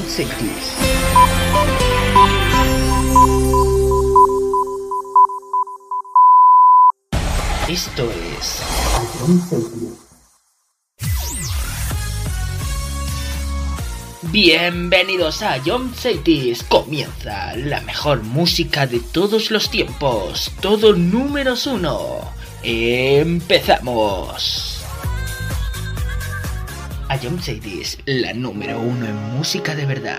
John Cities. Esto es John Cities. Bienvenidos a John Cities. Comienza la mejor música de todos los tiempos. Todo números 1. Empezamos. A John Cities, la número 1 en música de verdad.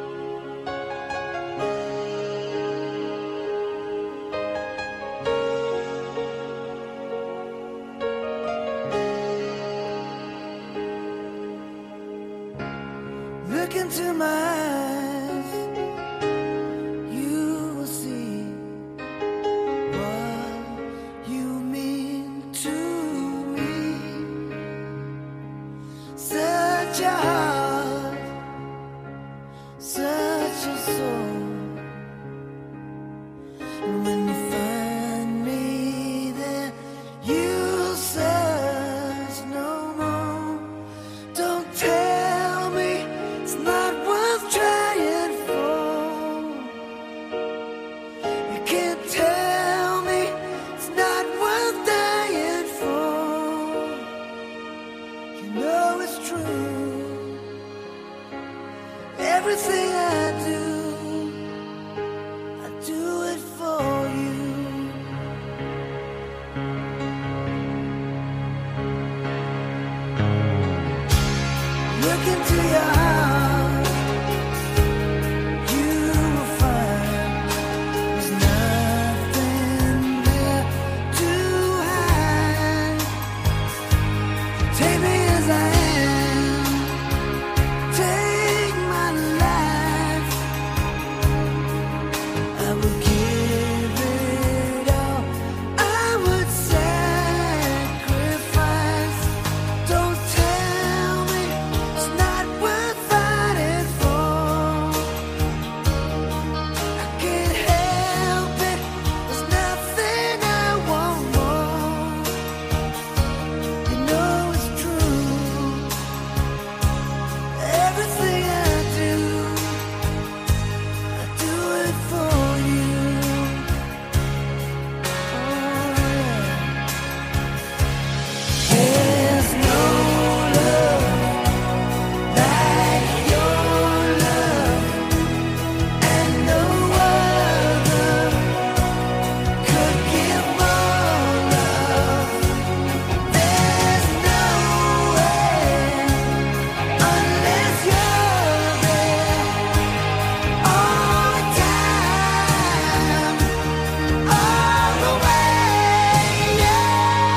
Look into my eyes, you will see what you mean to me. Such a heart, such a soul. And when you find me there, you'll search no more. Don't tell me it's not worth trying for. You can't tell me it's not worth dying for. You know it's true. Everything I do it for you. Look into your heart, you will find there's nothing there to hide. Take me as I am, take my life. I would give it all, I would sacrifice. Don't tell me it's not worth fighting for. I can't help it, there's nothing I want more. You know it's true. Everything I do it for you. Oh, yeah. There's no love like your love, and no other could give more love. There's no way unless you're there all the time, all the way, yeah.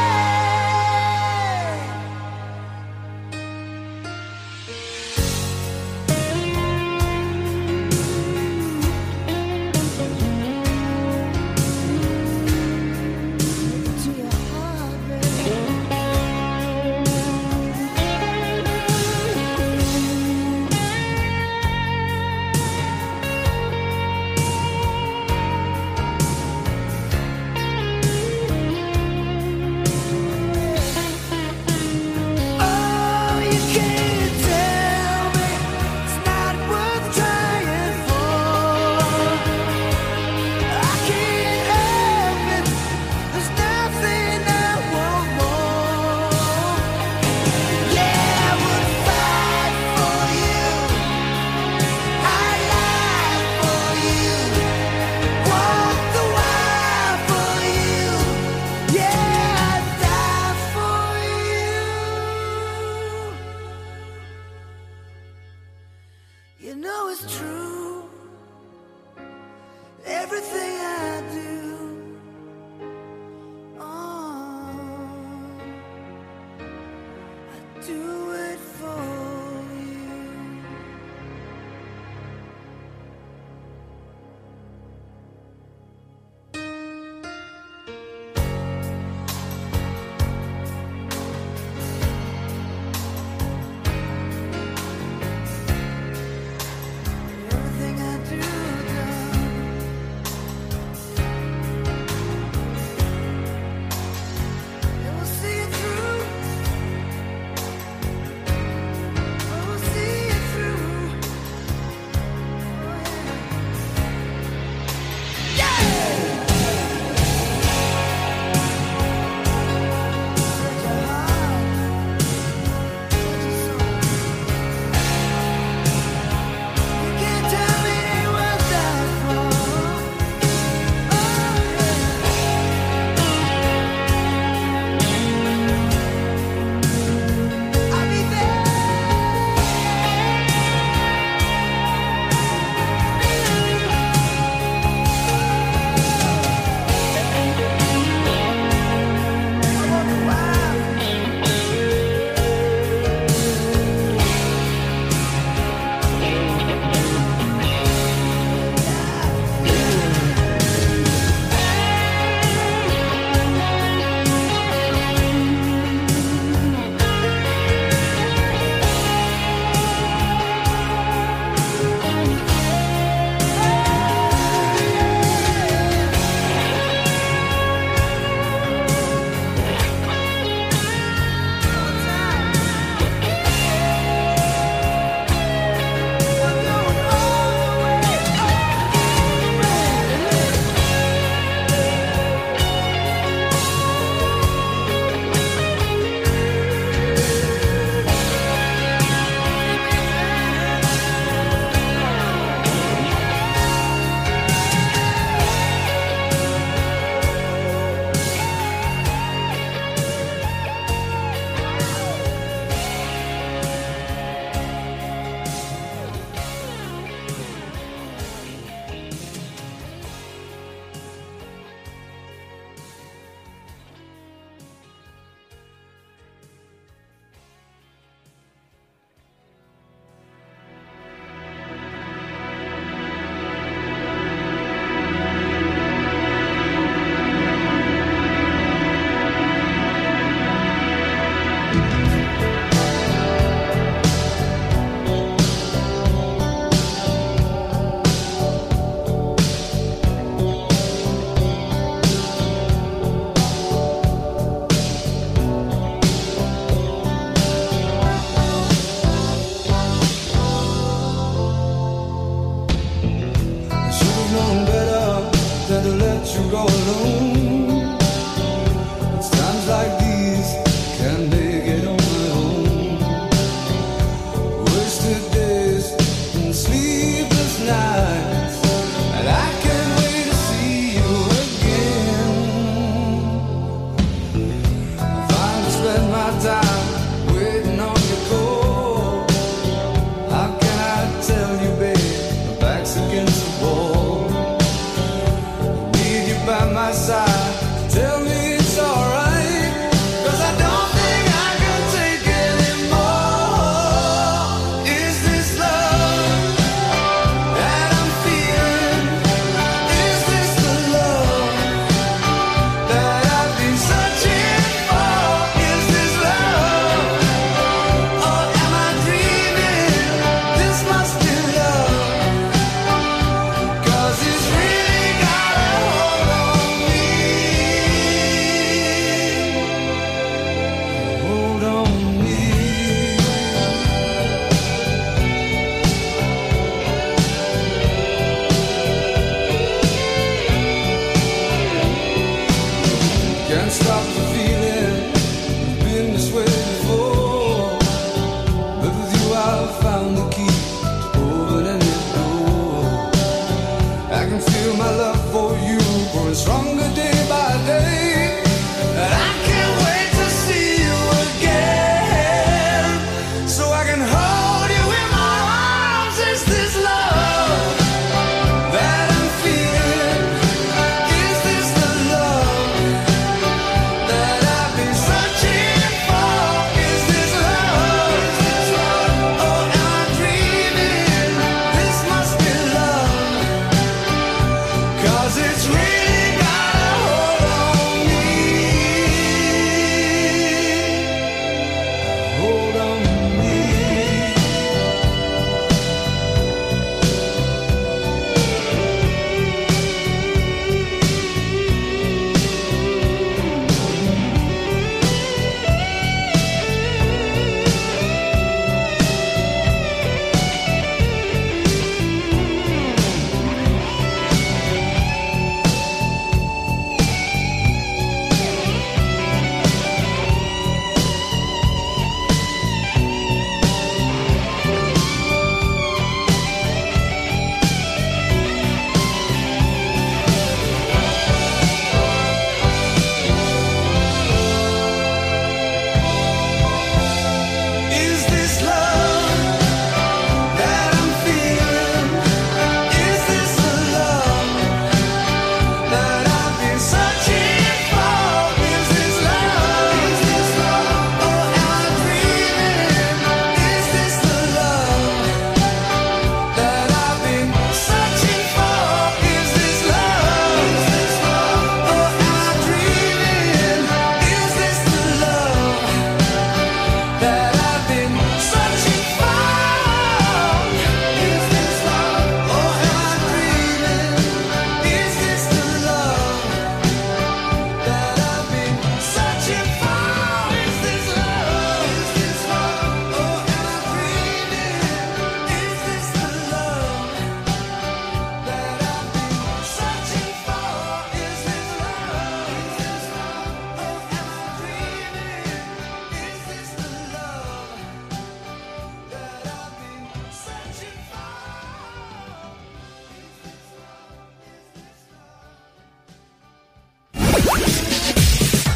To your heart, baby. Oh, you can't tell me it's not worth trying for. I can't help it, there's nothing I want more. Yeah, I would fight for you, I'd lie for you, walk the wire for you. Yeah, I'd die for you. You know it's true. Everything I do, I do it for you.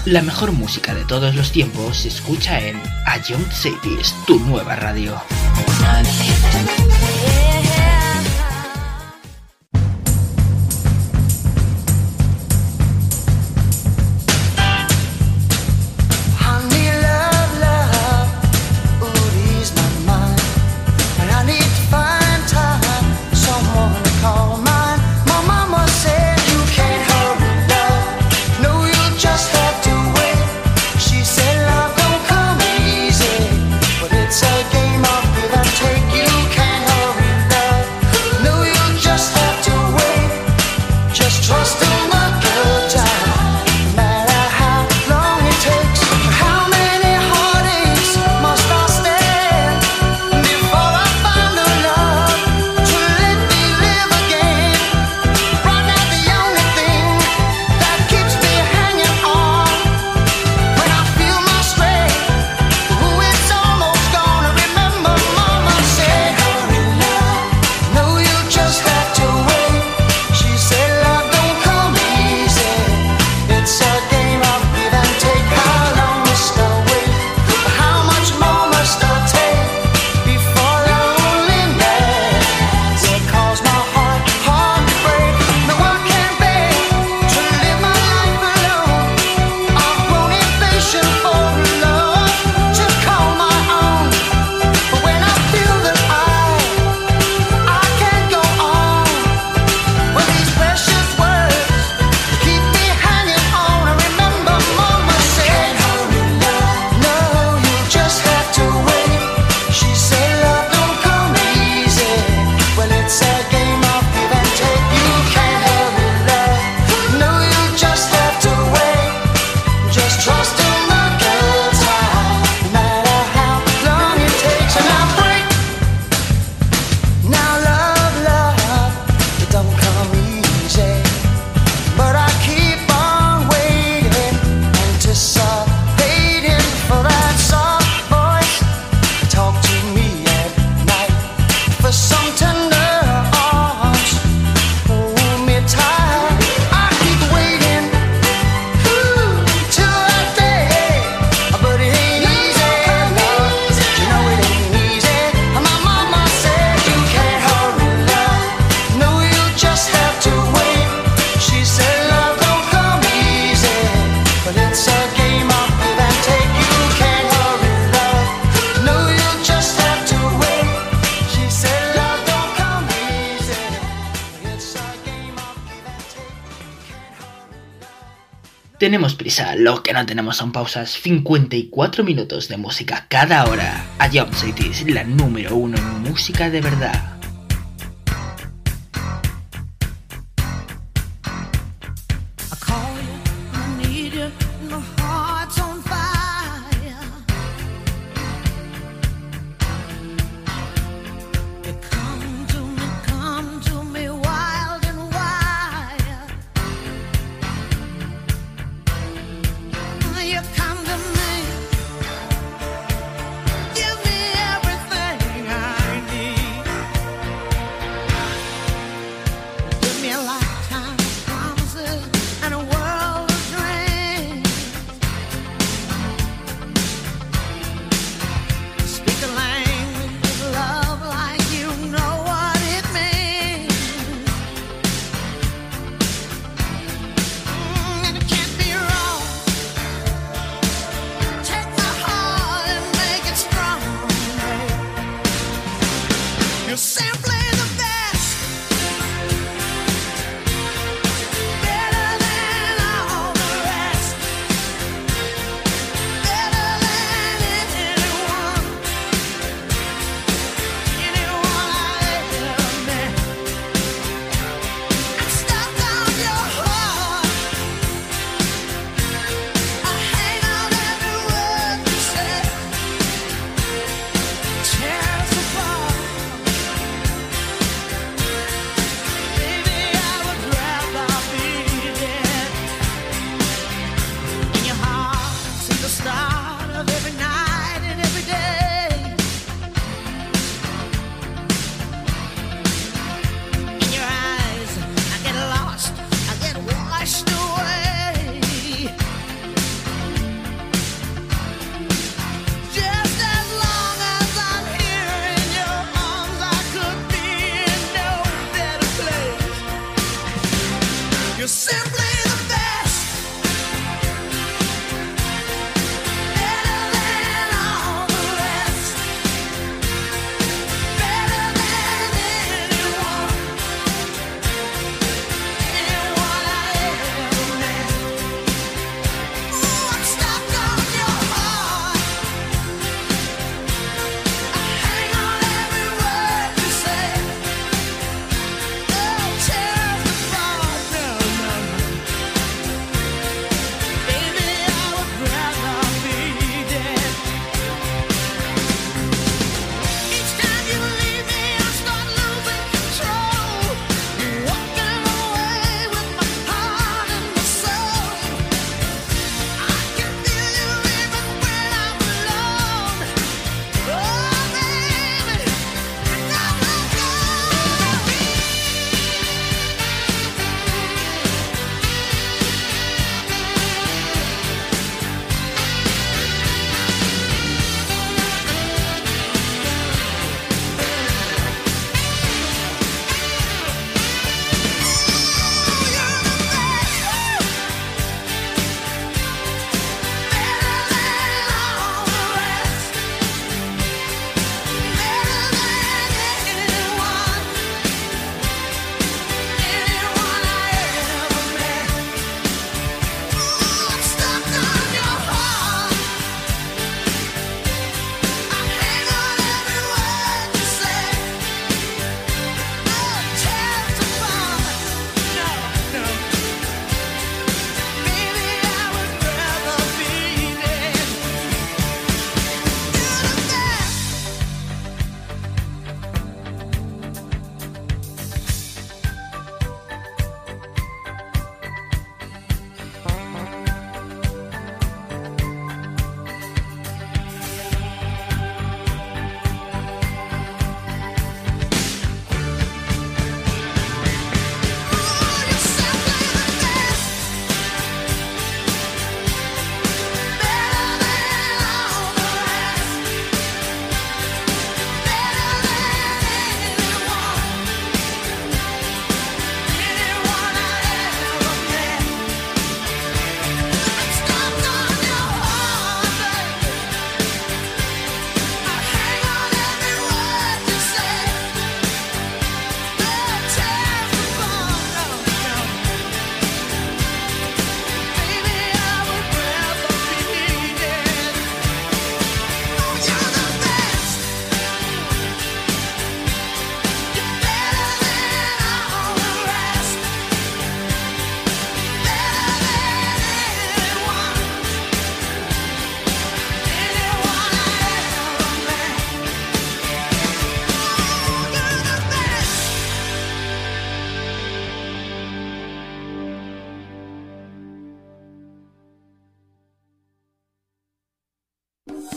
La mejor música de todos los tiempos se escucha en A Young Cities, tu nueva radio. Tenemos prisa, lo que no tenemos son pausas. 54 minutos de música cada hora. A Young Cities, la número 1 en música de verdad. Give me everything I need.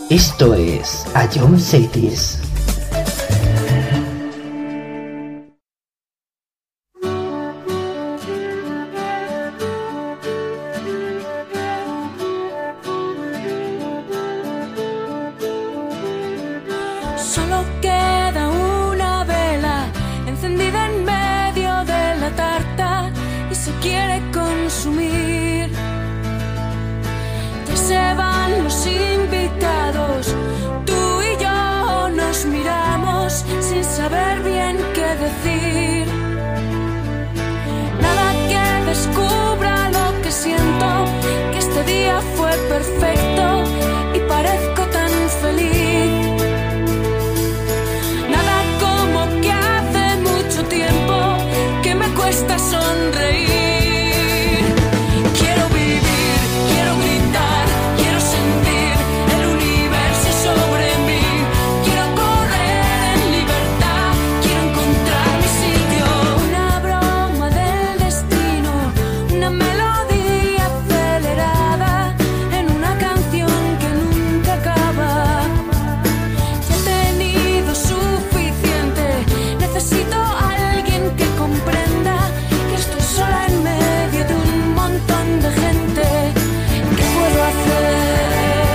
Esto es Ion Cities. Solo queda una vela encendida en medio de la tarta y se quiere consumir. Ya se van los invitados, tú y yo nos miramos sin saber bien qué decir. Nada que descubra lo que siento, que este día fue perfecto y parezco tan feliz. Nada como que hace mucho tiempo que me cuesta sonreír. Quiero vivir, quiero gritar, quiero sentir el universo sobre mí. Quiero correr en libertad, quiero encontrar mi sitio. Una broma del destino, una melodía acelerada en una canción que nunca acaba. Ya he tenido suficiente, necesito a alguien que comprenda que estoy sola en medio de un montón de gente. ¿Qué puedo hacer?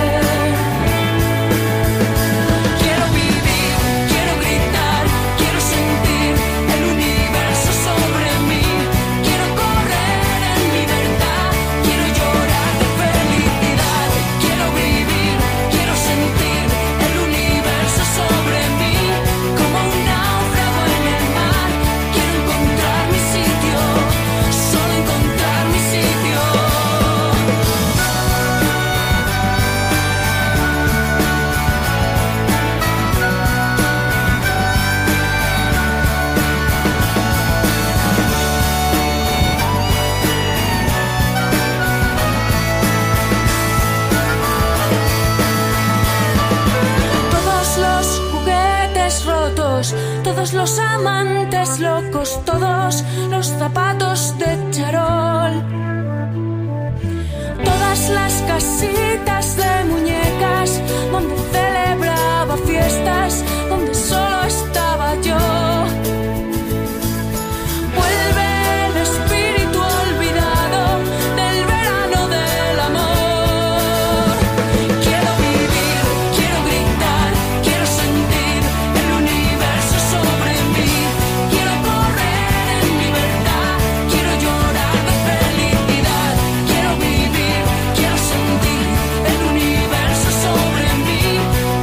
Quiero vivir, quiero gritar, quiero sentir el universo sobre mí. Quiero correr en libertad, quiero llorar de felicidad. Quiero vivir, quiero sentir el universo sobre mí. Como un náufrago en el mar, quiero encontrar mi sitio, solo encontrar mi sitio. Todos los juguetes rotos, todos los amantes locos, todos los zapatos de charol, todas las casitas de muñecas donde celebraba fiestas, donde solo estaba yo. Vuelve el espíritu olvidado del verano del amor. Quiero vivir, quiero gritar, quiero sentir el universo sobre mí. Quiero correr en libertad, quiero llorar de felicidad. Quiero vivir, quiero sentir el universo sobre mí.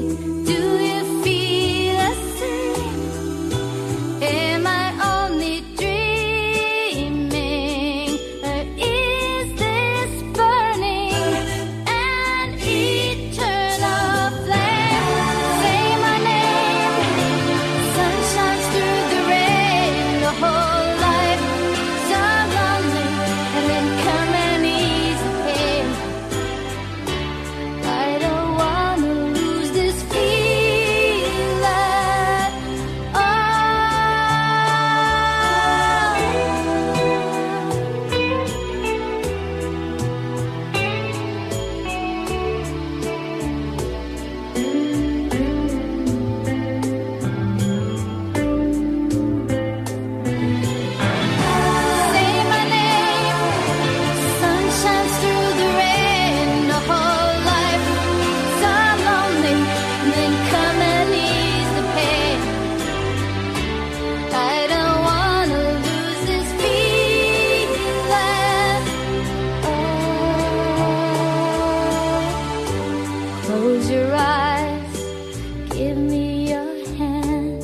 Do you feel the same? Am I only dreaming, or is this burning an eternal flame? Say my name. Sun shines through the rain. The whole life so lonely, and then come and ease the pain. I don't wanna lose this feeling. Oh. Say my name. Sun shines through the rain. The whole life so lonely, and then come and ease the pain. I don't wanna lose this feeling. Oh. Close your eyes. Give me your hand.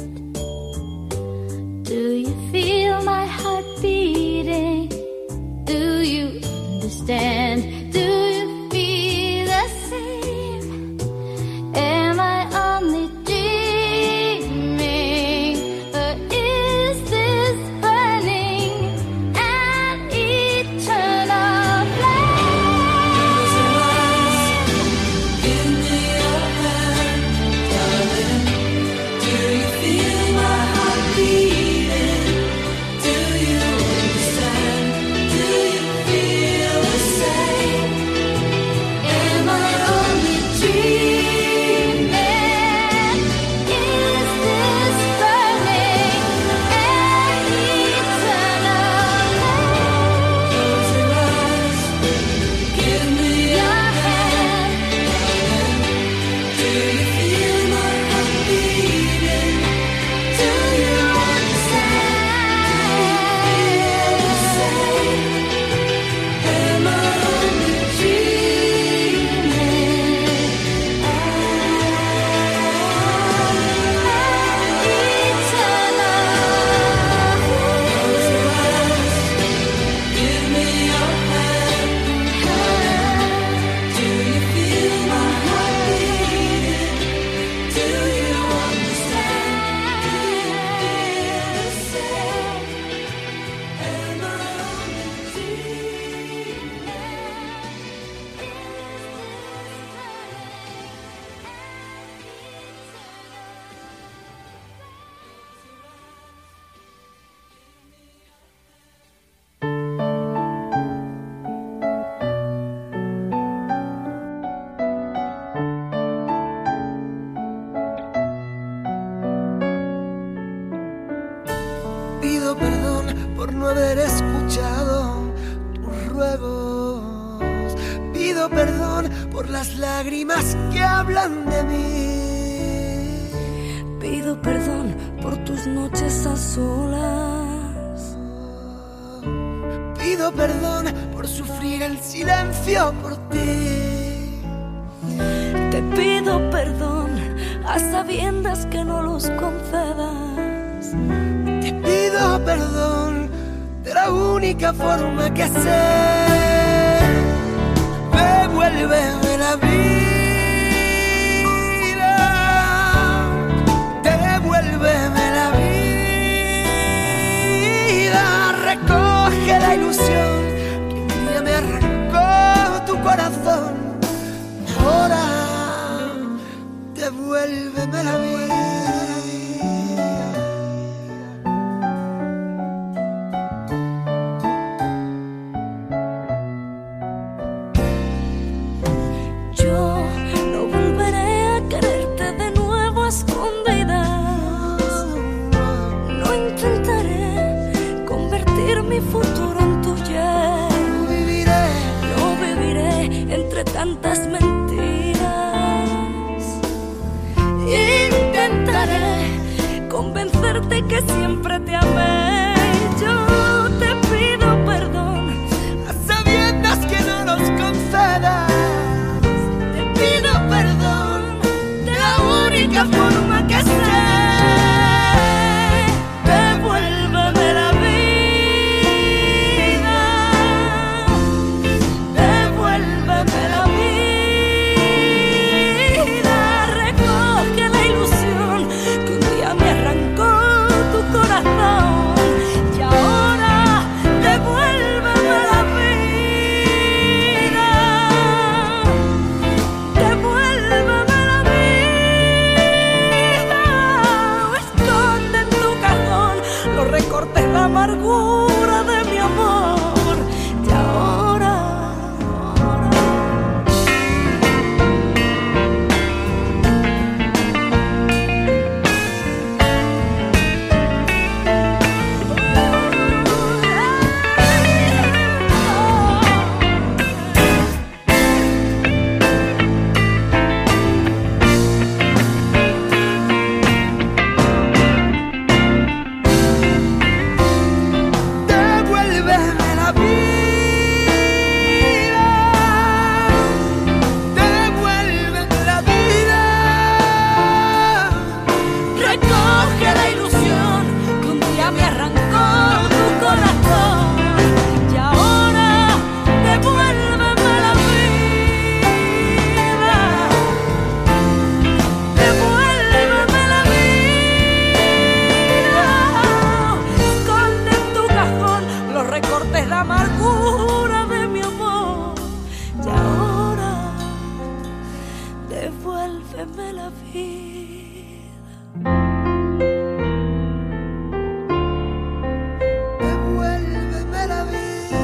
Do you feel my heart beating? Do you understand? Do you feel the same? Am I only dreaming, or is this burning an eternal flame? Give me your hand, darling. Do you feel my heart beating? Do you understand? Do you feel the same? Am I only dreaming? Is this burning an eternal flame? Close your eyes. Give me your hand. Do you feel my heart beating? Do you understand? Am I only dreaming? Give me your hand. Do you feel my heart beating? Do you understand? Do you feel the same? Am I only dreaming? Pido perdón por no haber escuchado tus ruegos. Pido perdón por las lágrimas que hablan de mí. Pido perdón por tus noches a solas. Pido perdón por sufrir el silencio por ti. Te pido perdón a sabiendas que no los concedas. Te pido perdón de la única forma que sé. Devuélveme la vida. Devuélveme la vida. Recoge la ilusión que un día me arrancó tu corazón. Ahora devuélveme la vida. Yo no volveré a quererte de nuevo a escondidas. No intentaré convertir mi futuro en tuyo. No viviré entre tantas mentiras. Intentaré convencerte que siempre te amé. Yo te pido perdón A sabiendas que no nos concedas. Te pido perdón de la única forma que sé. Devuélveme la vida, devuélveme la vida. Recoge la ilusión que un día me arrancó tu corazón. Y ahora devuélveme la vida, devuélveme la vida. Esconde en tu cajón los recortes de amargura de mi amor. Y ahora devuélveme la vida, devuélveme la vida. Recoge la ilusión que un día me arrancó tu corazón. Y ahora devuélveme la vida, devuélveme la vida. Esconde en tu cajón los recortes de amargura de mi amor. Y ahora devuélveme la vida, devuélveme la vida.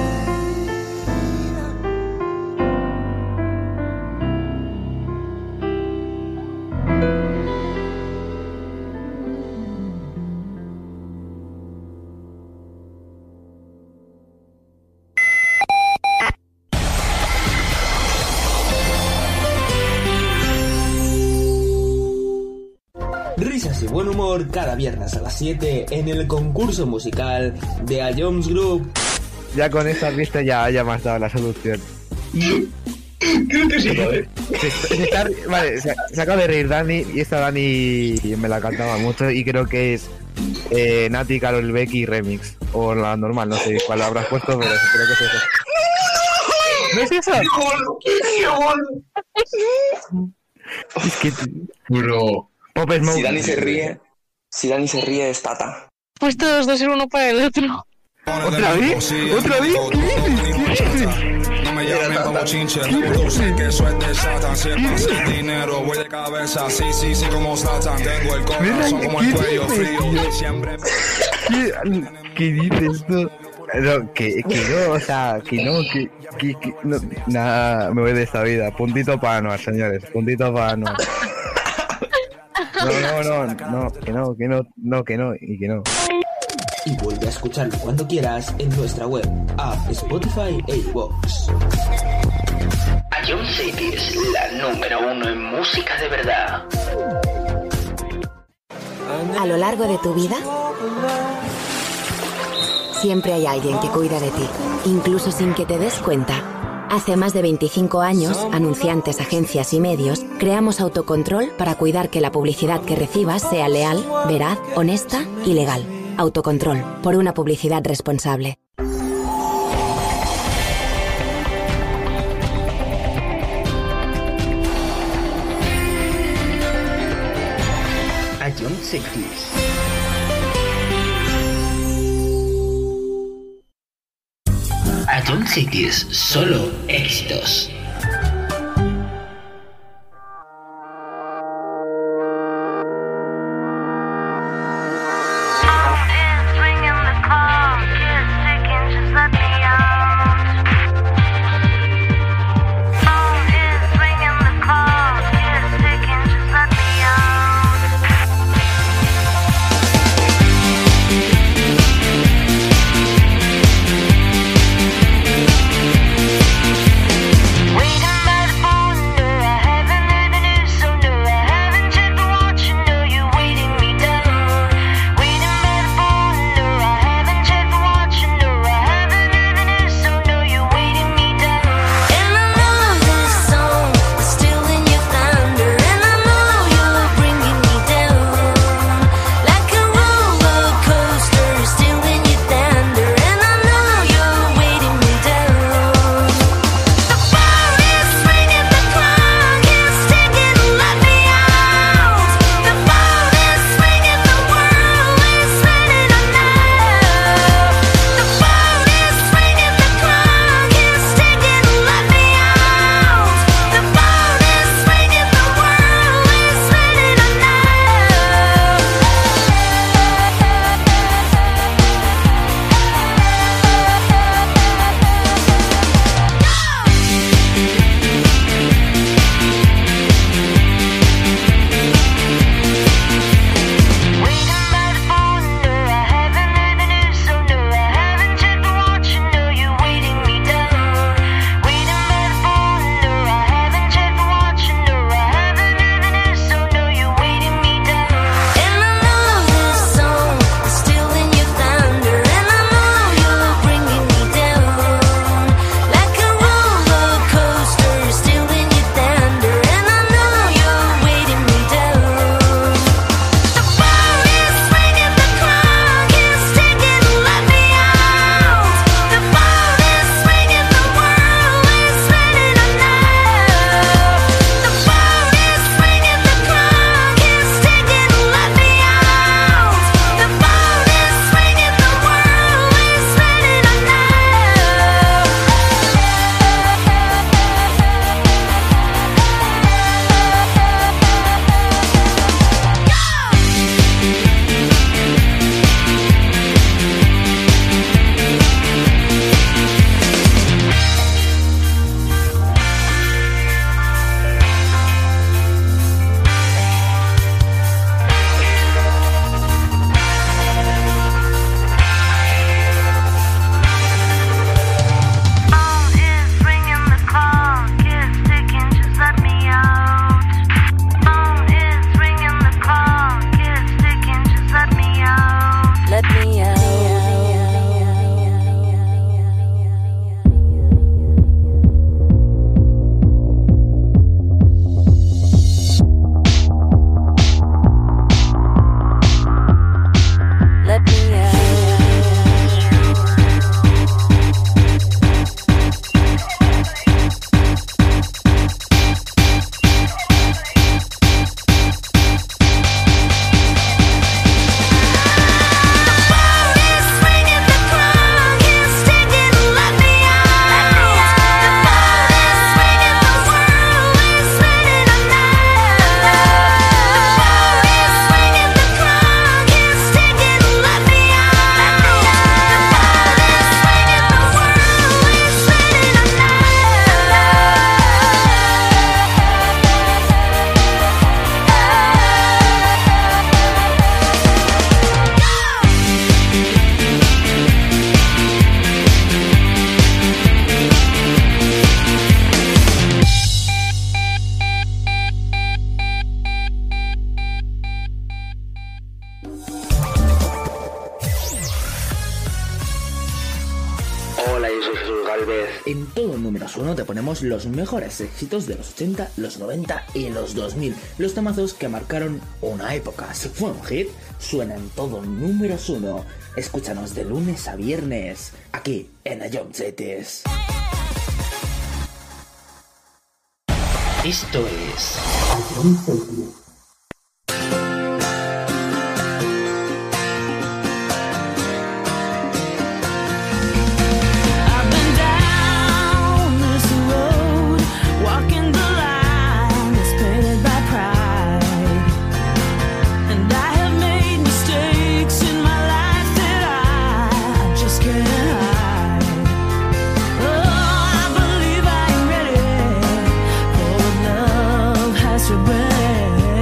Risas y buen humor cada viernes a las 7 en el concurso musical de A Jones Group. Ya con esta pista ya me has dado la solución. Creo que sí, ¿vale? Vale, se acaba de reír Dani y esta Dani me la cantaba mucho y creo que es Nati, Karol Becky remix o la normal, no sé cuál habrás puesto, pero creo que es eso. ¿No es eso? ¡Qué gol! Es que Bro. Pop Smoke. Si Dani se ríe es Tata. Pues todos dos uno para el otro. ¿Otra vez? ¿Otra vez? ¿Qué dices? No me llamen como chinche, tú sé que eso es de Satan. Si es pasa el dinero, voy de cabeza, sí, como Satan. Tengo el corazón como el cuello frío, siempre. ¿Qué dices tú? No, que no, o sea, que no, nada, me voy de esta vida. Puntito para Anuar, señores, puntito para Anuar. No, que no. Y vuelve a escucharlo cuando quieras en nuestra web, app, Spotify e iVoox. A John City es la número 1 en música de verdad. A lo largo de tu vida, siempre hay alguien que cuida de ti, incluso sin que te des cuenta. Hace más de 25 años, anunciantes, agencias y medios, creamos Autocontrol para cuidar que la publicidad que recibas sea leal, veraz, honesta y legal. Autocontrol, por una publicidad responsable. A John City. A John Cities, solo éxitos. Galvez. En todo Números 1 te ponemos los mejores éxitos de los 80, los 90 y los 2000. Los temazos que marcaron una época. Si fue un hit, suena en todo Números 1. Escúchanos de lunes a viernes, aquí en Ion Cities. Esto es Ion Cities. Has to break.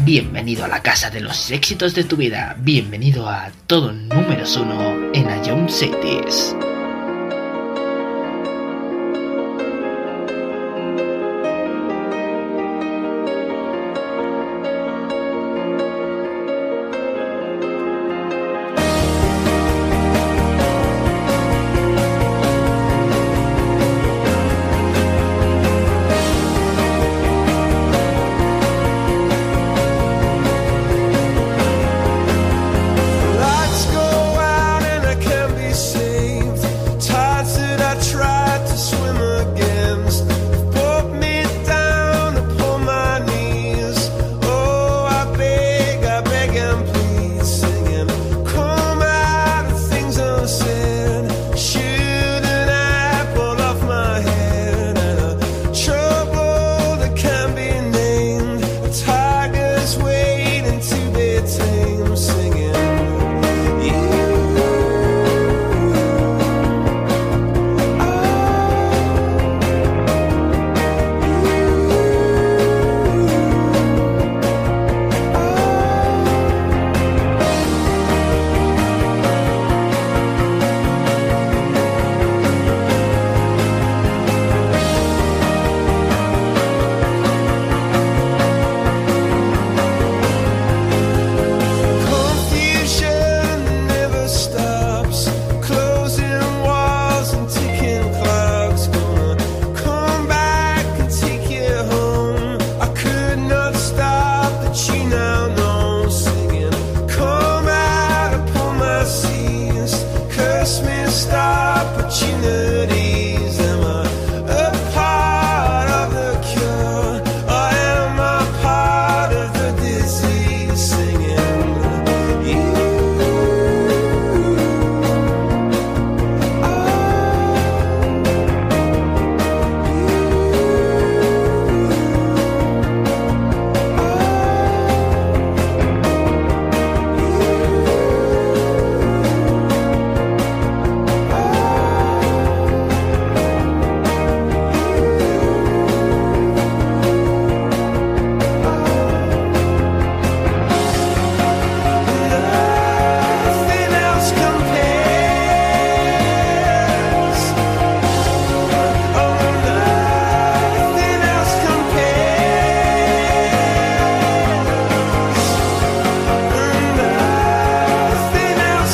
Bienvenido a la casa de los éxitos de tu vida. Bienvenido a todo números 1 en Ion Cities. Lights go out and I can't be saved. Tides that I tried to swim against brought me down upon my knees. Oh, I beg and please, singing, come out of things unsaid. Shoot an apple off my head and a trouble that can't be named. A tiger's waiting to be tamed, singing. Confusion never stops, closing walls and ticking clocks. Gonna come back and take you home. I could not stop the tune now, no, singing. Come out upon my seas, curse me, stop opportunities. Am I a part of the cure, or am I part of the disease? Singing. Nothing else compares. Oh, nothing else compares. Nothing else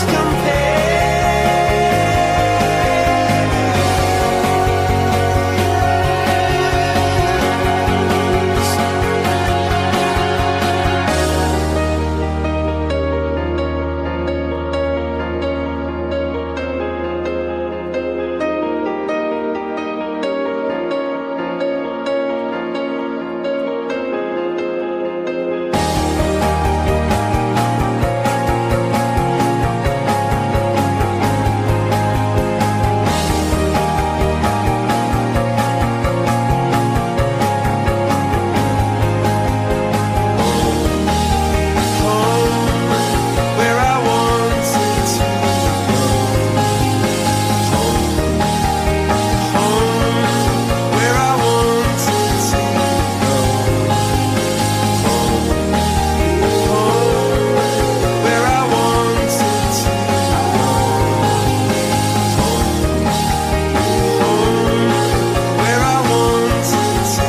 where I wanted to go. Home, where I wanted to go. Home, where I wanted to go. Home, where I wanted to go.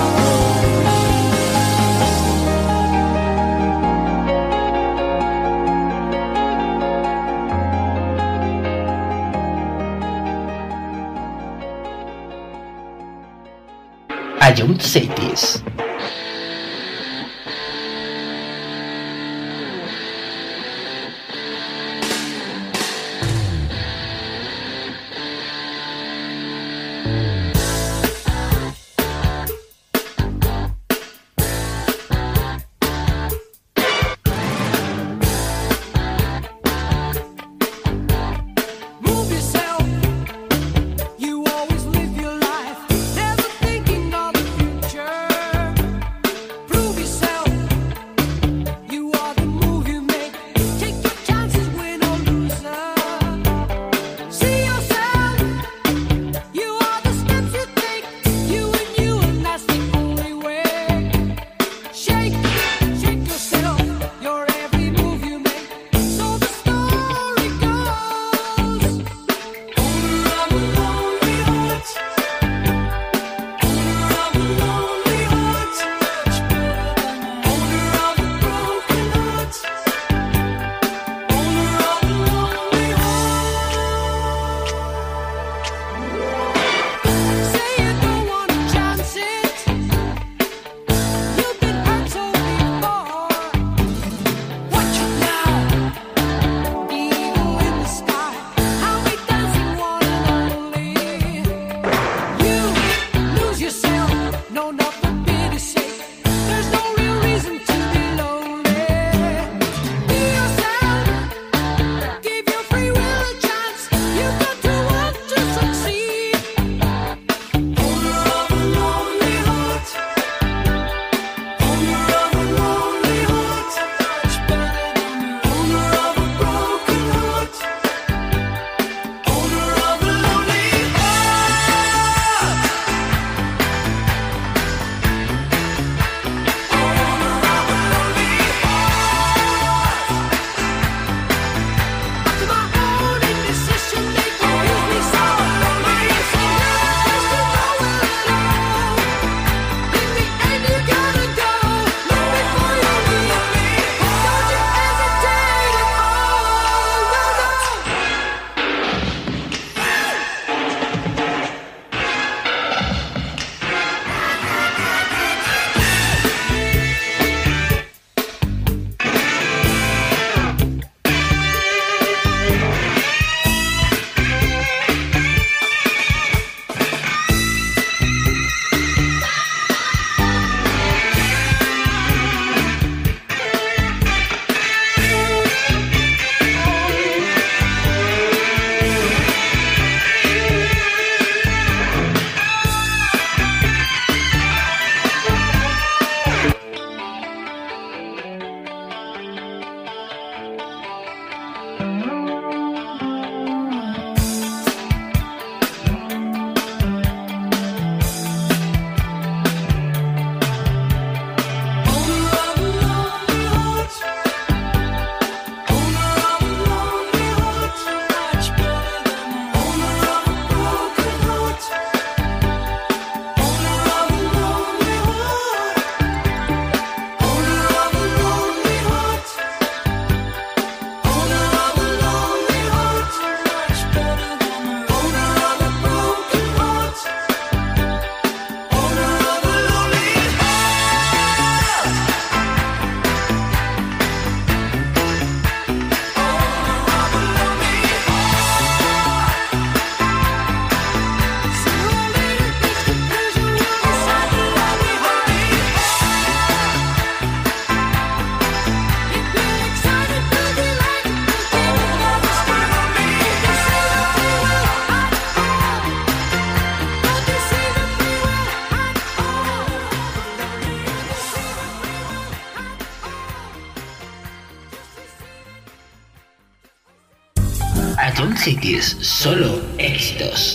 Ion Cities. Move yourself. You always live your life, never thinking of the future. Chiquis, solo éxitos.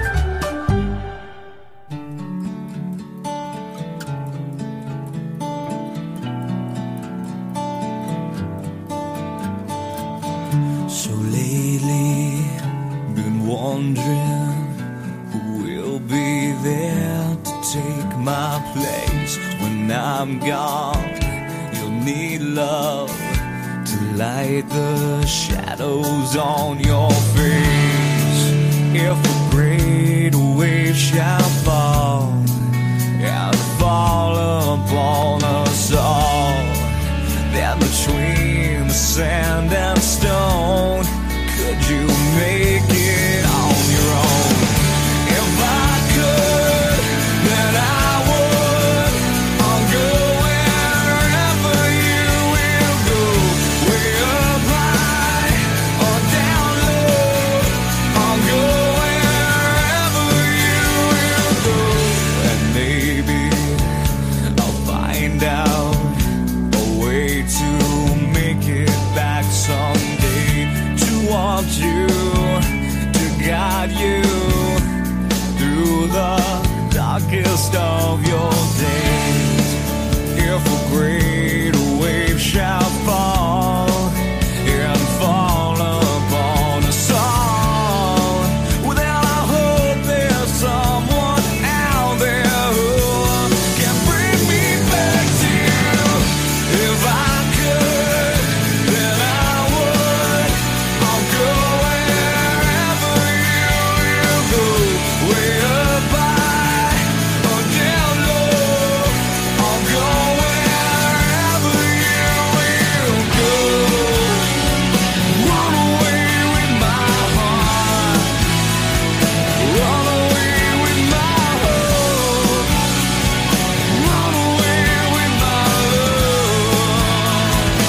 So lately, been wondering who will be there to take my place when I'm gone. You'll need love to light the shadows on your face. If a great wave shall fall and fall upon us all, then between the sand and stone, could you make it on your own? If I could, then I would. I'll go wherever you will go, way up high or down low. I'll go wherever you will go, and maybe I'll find out a way to make it back someday, to want you, to guide you through the darkest of your days. If a great wave shall fall and fall upon us all, well, then I hope there's someone out there who can bring me back to you. If I could, then I would. I'll go wherever you will go, way up high or down low. I'll go wherever you will go. Run away with my heart, run away with my hope, run away with my love.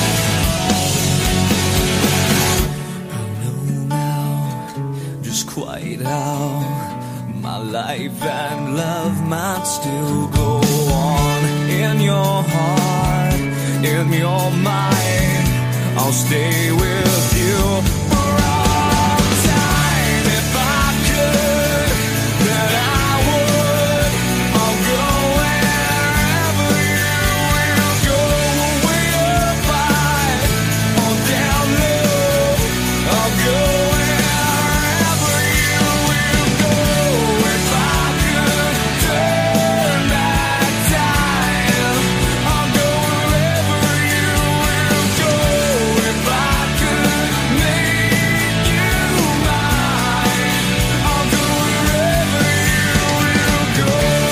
I know now just quite how my life and love might still go on. In your heart, in your mind, I'll stay with you for all time. If I could, then I would. I'll go wherever you will go, way up high or down low. I'll go wherever you will go. If I could turn back time, I'll go wherever you will go. If I could make you mine, I'll go wherever you will go.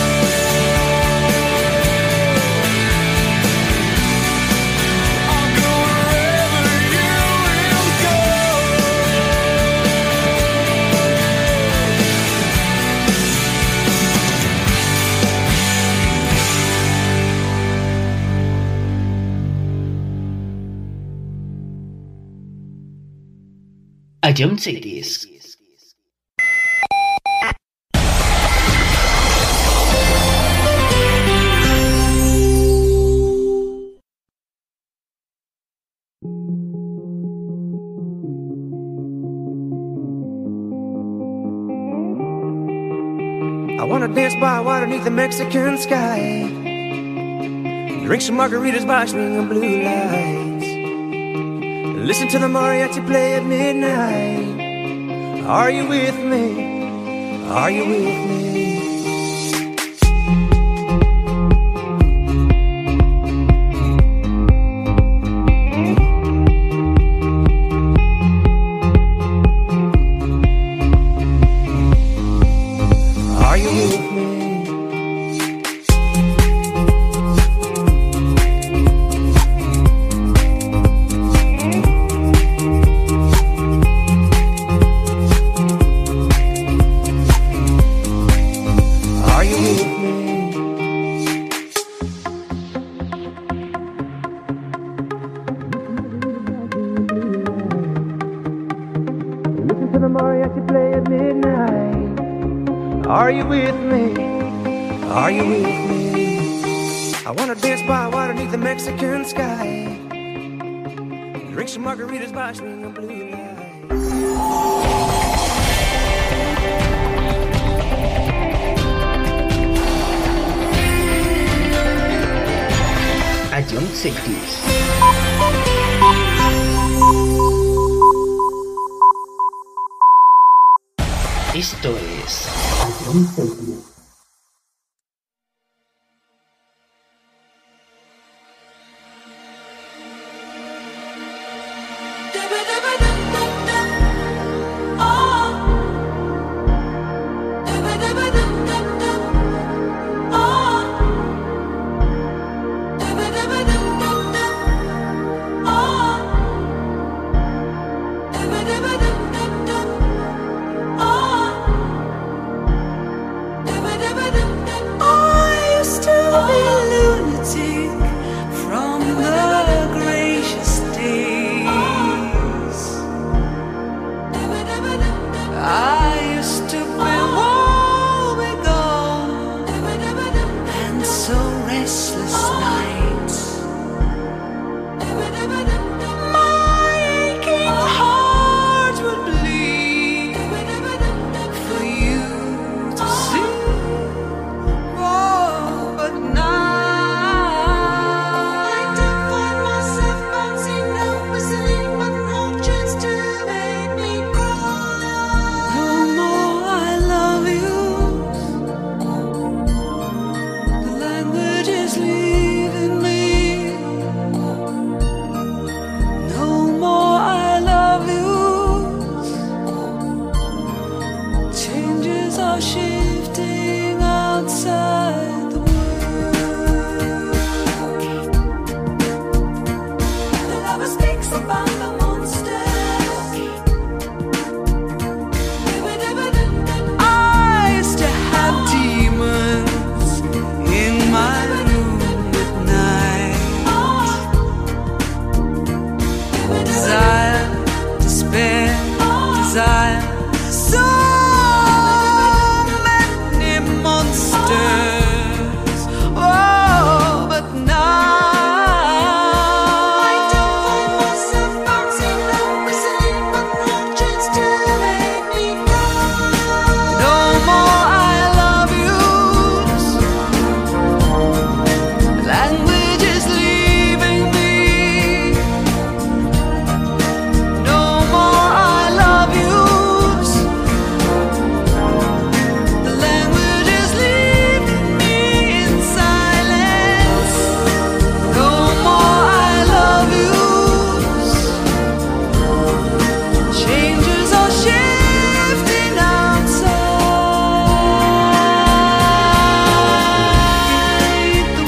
I'll go wherever you will go. A John Cities. I wanna dance by water beneath the Mexican sky, drink some margaritas by swinging blue lights, listen to the mariachi play at midnight. Are you with me? Are you with me? Are you with me? Are you with me? Listen to the mariachi play at midnight. Are you with me? Are you with me? I wanna dance by water beneath the Mexican sky, drink some margaritas by swinging blue lights. Classic Kiss. Esto es I used to be a lunatic from the gracious days. I used to be woebegone and so restless nights. My aching heart would bleed for you to see. Oh, but now I don't find myself bouncing, no whistling, but no chance to make me cry. No more I love you. The language is leaving me. No more I love you. Changes are shifting outside the world. The lover speaks about the monsters. I used to have demons in my room at night. Desire, despair, desire. So many monsters. Oh, but now I don't find myself bouncing, no whistling, but no chance to make me cry. No more I love yous. Language is leaving me. No more I love yous. The language is leaving me in silence. No more I love yous. Changes are shifting outside the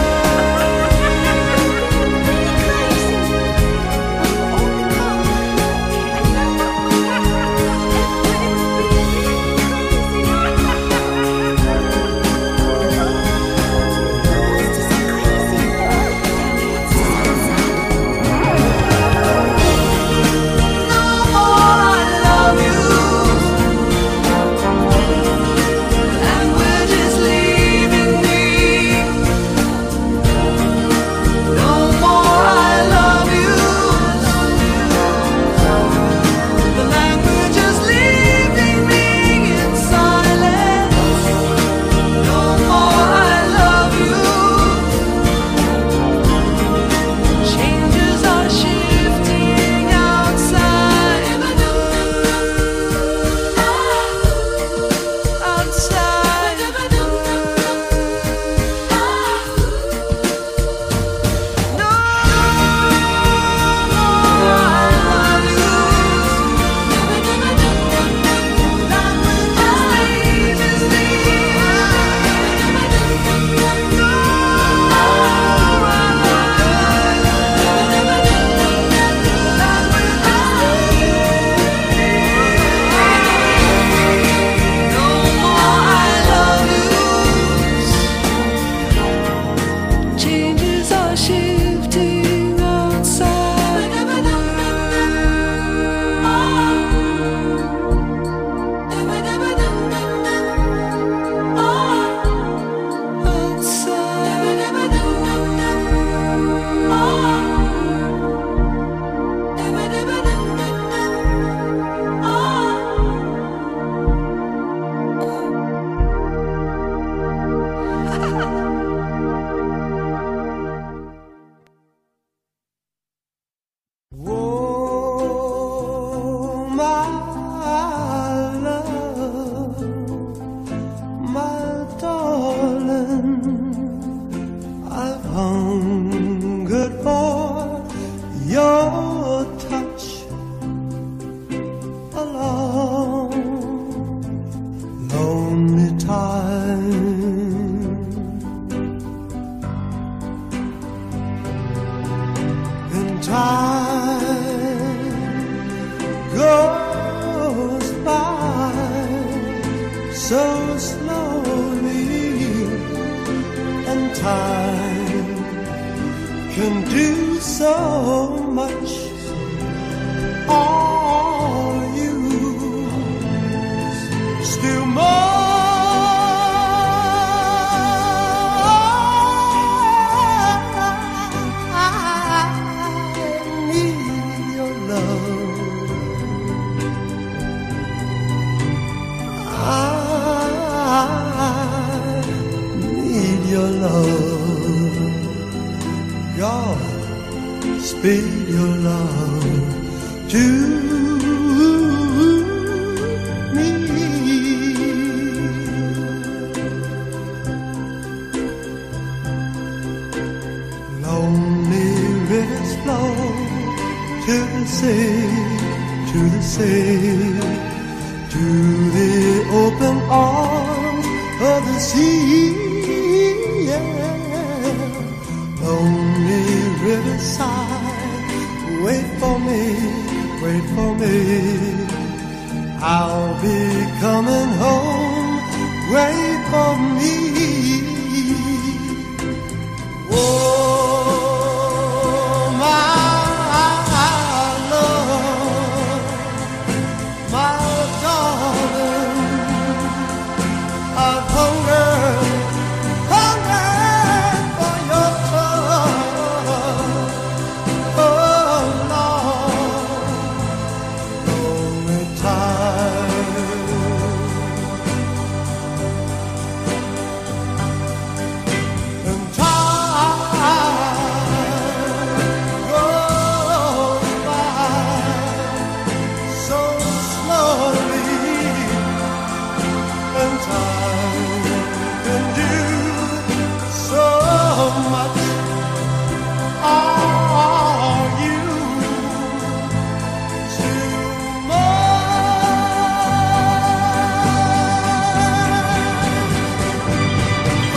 changes are shifting outside the time. And time goes by so slowly, and time can do so much. All you still more. Your love, God, speed your love to me. Lonely rivers flow to the sea, to the sea, to the open arms of the sea. Lonely riverside, wait for me, wait for me. I'll be coming home, wait for me. Oh, my love, my darling, I've hungered for your touch. Oh Lord, only time. And time goes by so slowly, and time can do so much. Are you still mine? I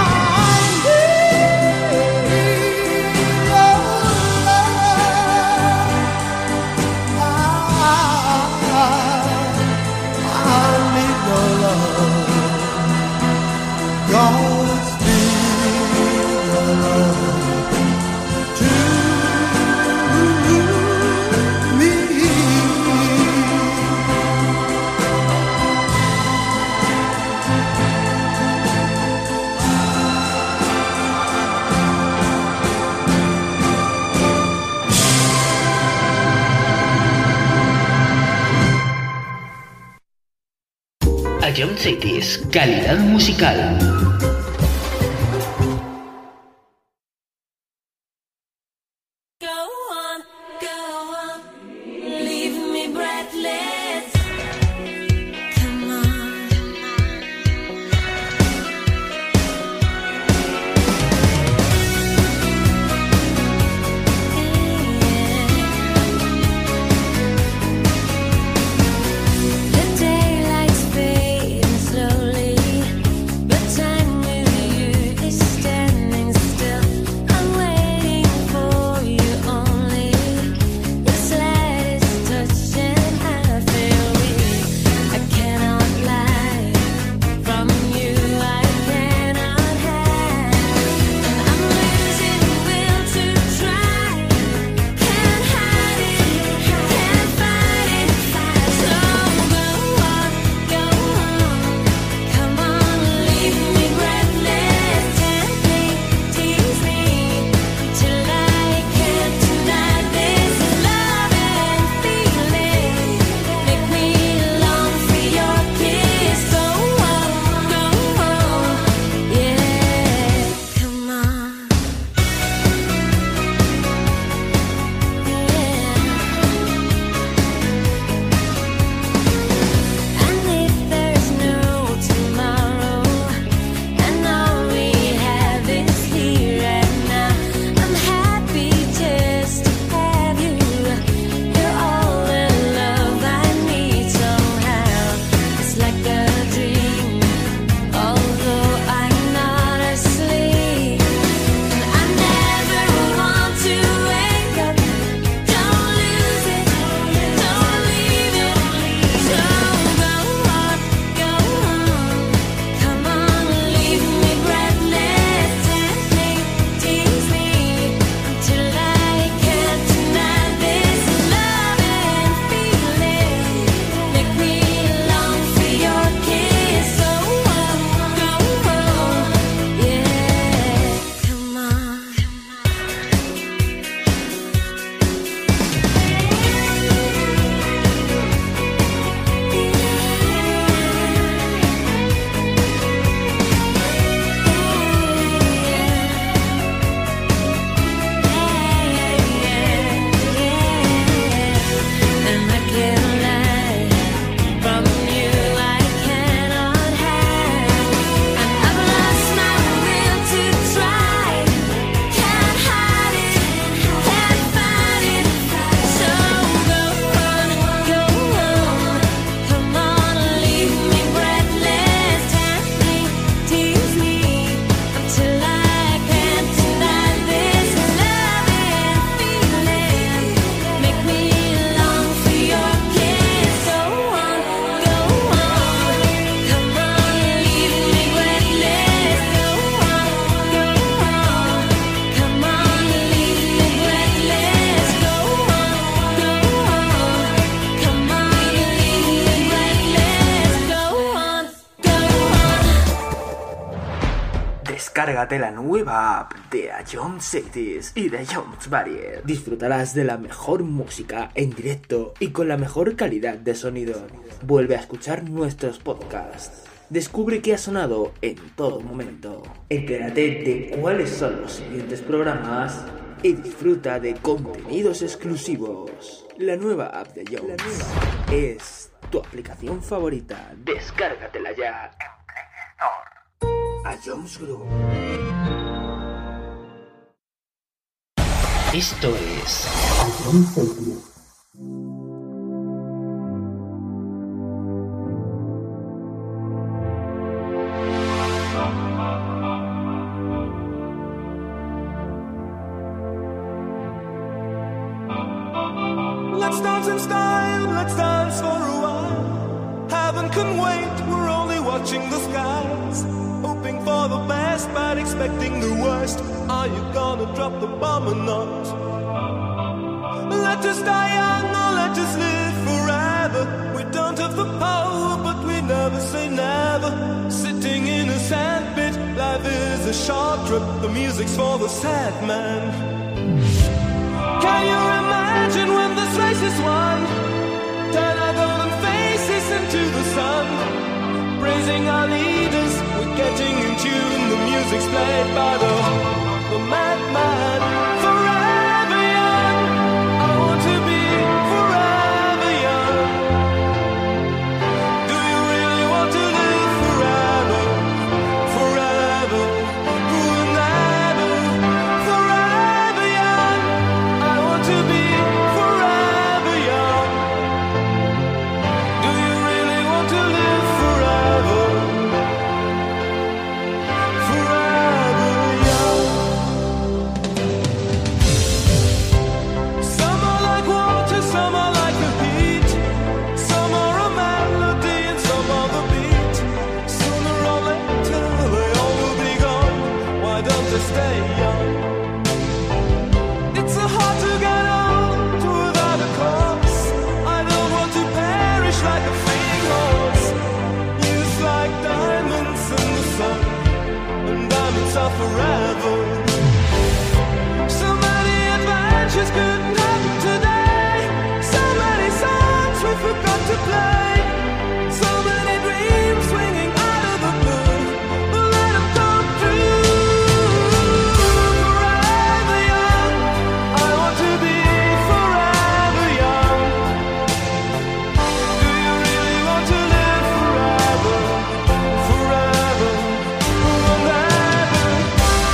need your love. God, speed your love to me. Ion Cities, calidad musical. Leave me breathless. Come on. The daylight's fading slowly, but time Descárgate la nueva app de Ion Cities y de Jones Barrier. Disfrutarás de la mejor música en directo y con la mejor calidad de sonido. Vuelve a escuchar nuestros podcasts. Descubre qué ha sonado en todo momento. Entérate de cuáles son los siguientes programas y disfruta de contenidos exclusivos. La nueva app de Jones es tu aplicación favorita. Descárgatela ya en Play Store. A Jones Group. Esto es Let's dance in style, let's dance for a while. Heaven can wait, we're only watching the skies. Hoping for the best, but expecting the worst. Are you gonna drop the bomb or not? Let us die young or let us live forever. We don't have the power, but we never say never. Sitting in a sandpit, life is a short trip. The music's for the sad man. Can you imagine when this race is won? Turn our golden faces into the sun. Praising our leaders, we're getting in tune. The music's played by the madman. Forever young, I want to be forever young. Do you really want to live forever? Forever, forever, forever young. I want to be forever young. Do you really want to live forever? Forever young. Some are like water, some are like the heat. Some are a melody and some are the beat. Sooner or later they all will be gone. Why don't they stay young? It's so hard to get old without a cause. I don't want to perish like a fleeing horse. Youth like diamonds in the sun, and diamonds are forever. So many adventures couldn't happen today. So many songs we forgot to play. So many dreams swinging out of the blue. But let them come true. Forever young, I want to be forever young. Do you really want to live forever? Forever, forever,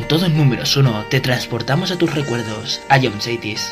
todo en números 1, te transportamos a tus recuerdos, a Ions 80s.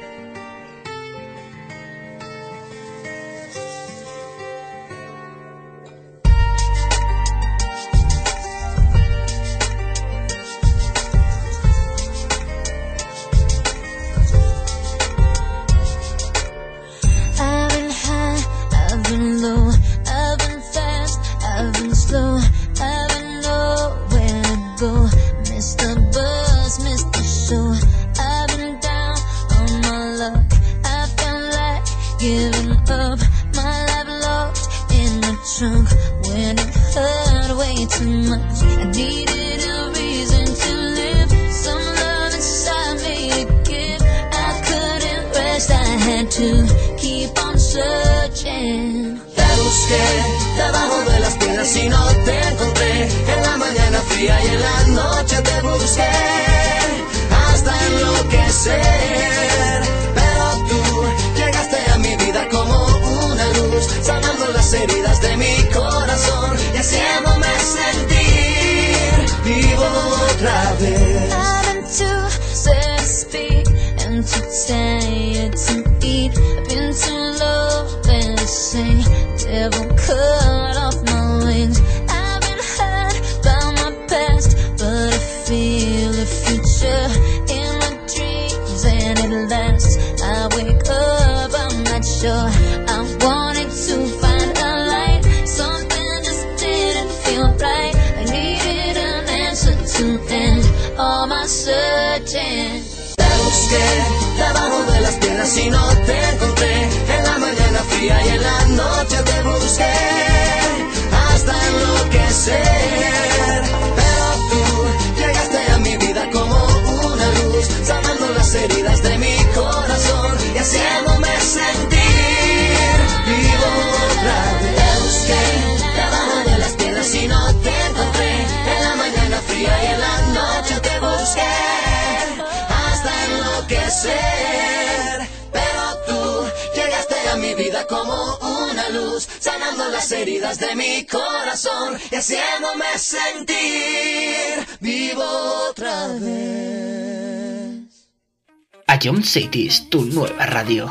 A Ions 80s, tu nueva radio.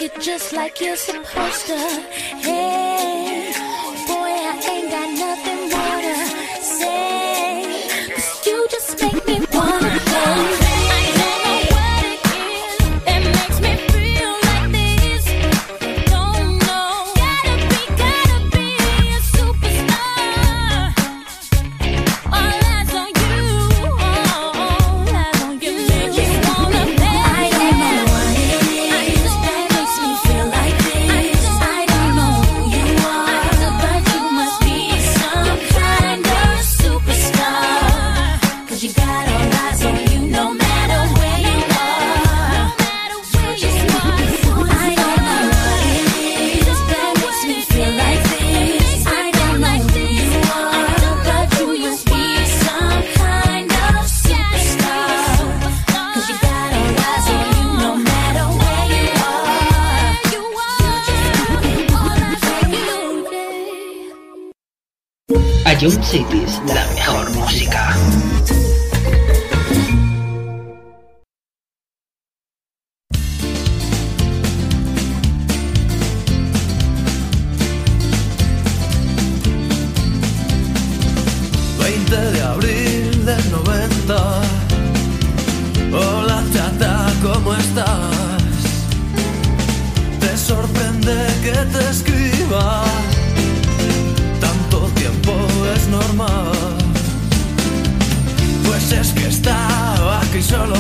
it just like you're supposed to. Hey, boy, I ain't got nothing more to say, 'cause you just make me wanna go. Ion Cities, la mejor música. De abril del 90. Hola chata, ¿cómo estás? Te sorprende que te escriba. Tanto tiempo es normal. Pues es que estaba aquí solo.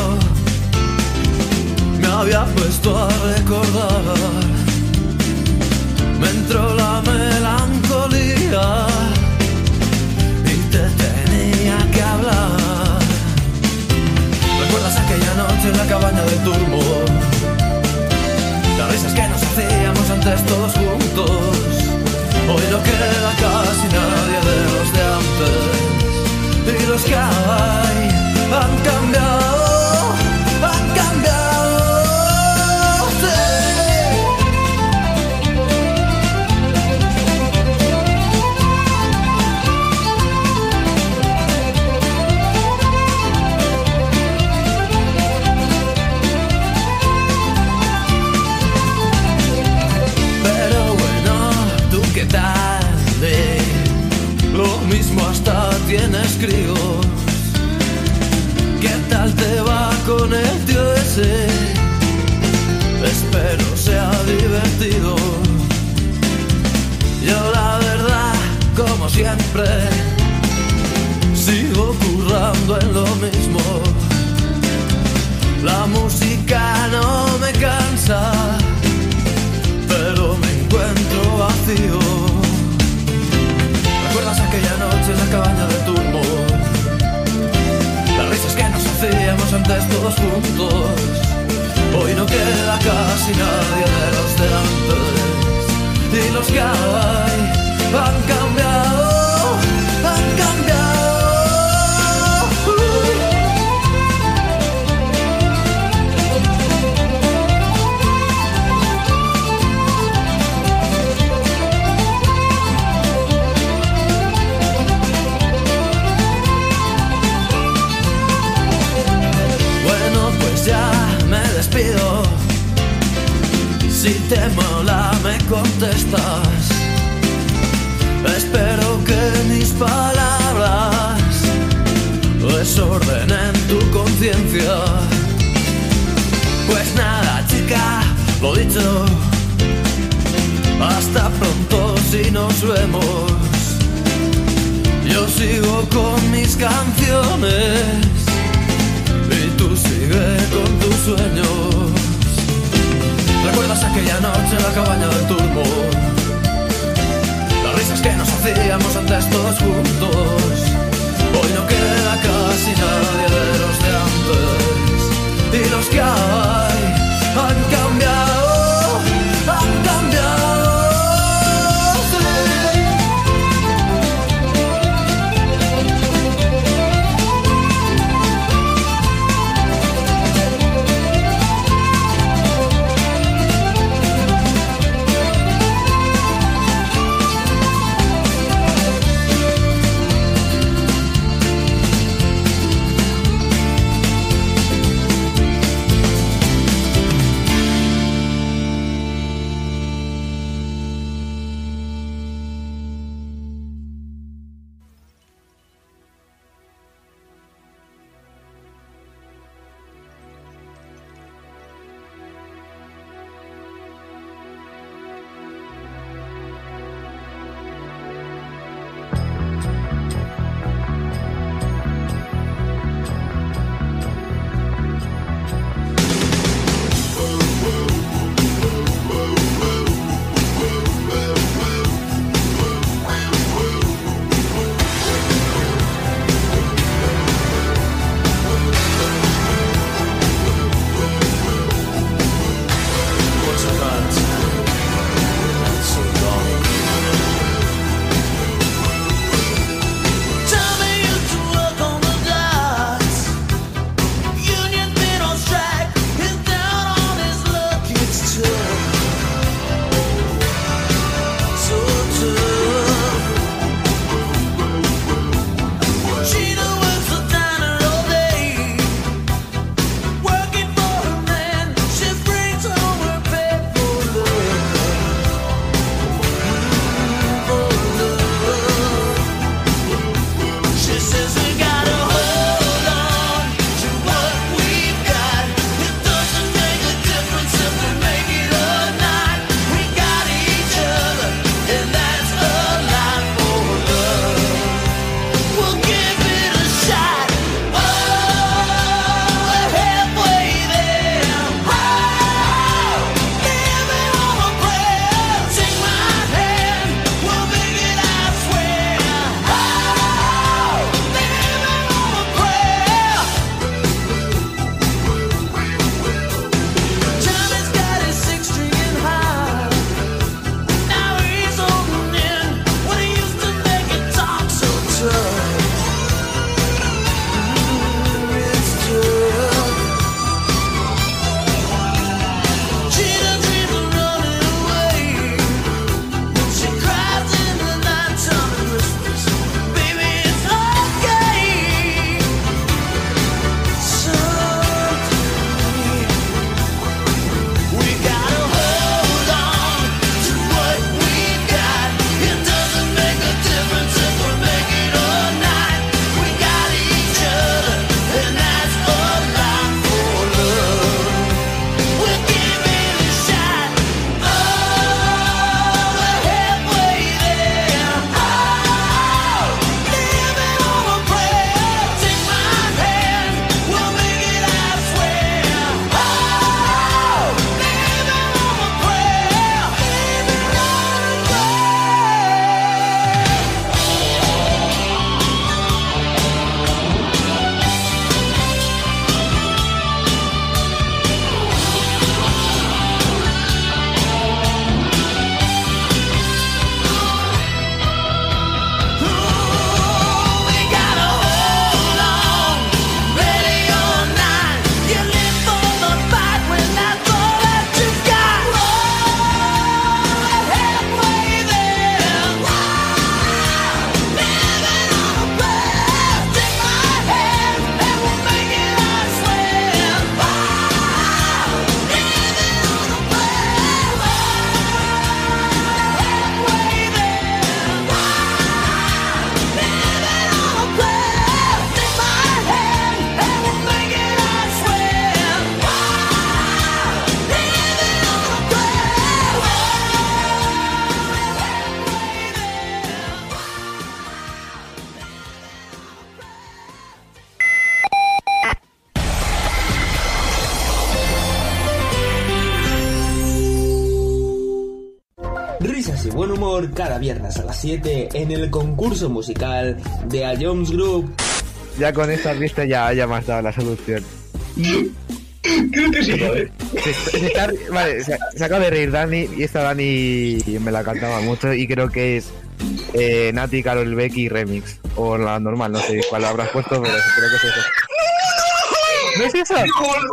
Me había puesto a recordar. Me entró la melancolía. Te tenía que hablar. ¿Recuerdas aquella noche en la cabaña del turbo? Las risas que nos hacíamos antes todos juntos. Hoy no queda casi nadie de los de antes. Y los que hay han cambiado, han cambiado. Sí. ¿Qué tal? Lo mismo hasta tienes críos. ¿Qué tal te va con el tío ese? Espero sea divertido. Yo la verdad, como siempre, sigo currando en lo mismo. La música no me cansa, pero me encuentro vacío. ¿Recuerdas aquella noche en la cabaña del turbo? Las risas que nos hacíamos antes todos juntos. Hoy no queda casi nadie de los de antes. Y los que hay han cambiado, han cambiado. Despido. Si te mola me contestas. Espero que mis palabras desordenen tu conciencia. Pues nada chica, lo dicho. Hasta pronto si nos vemos. Yo sigo con mis canciones y tú sigue con tus sueños. ¿Recuerdas aquella noche en la cabaña del turbo? Las risas que nos hacíamos antes todos juntos. Hoy no queda casi nadie de los de antes. Y los que hay han cambiado, han cambiado. Sí. buen humor cada viernes a las 7 en el concurso musical de A Jones Group. Ya con esta pista ya me has dado la solución. Creo que sí, ¿vale? Se acaba de reír Dani y esta Dani me la cantaba mucho y creo que es Nati, Karol Becky remix. O la normal, no sé cuál habrás puesto, pero creo que es eso. ¿No es eso?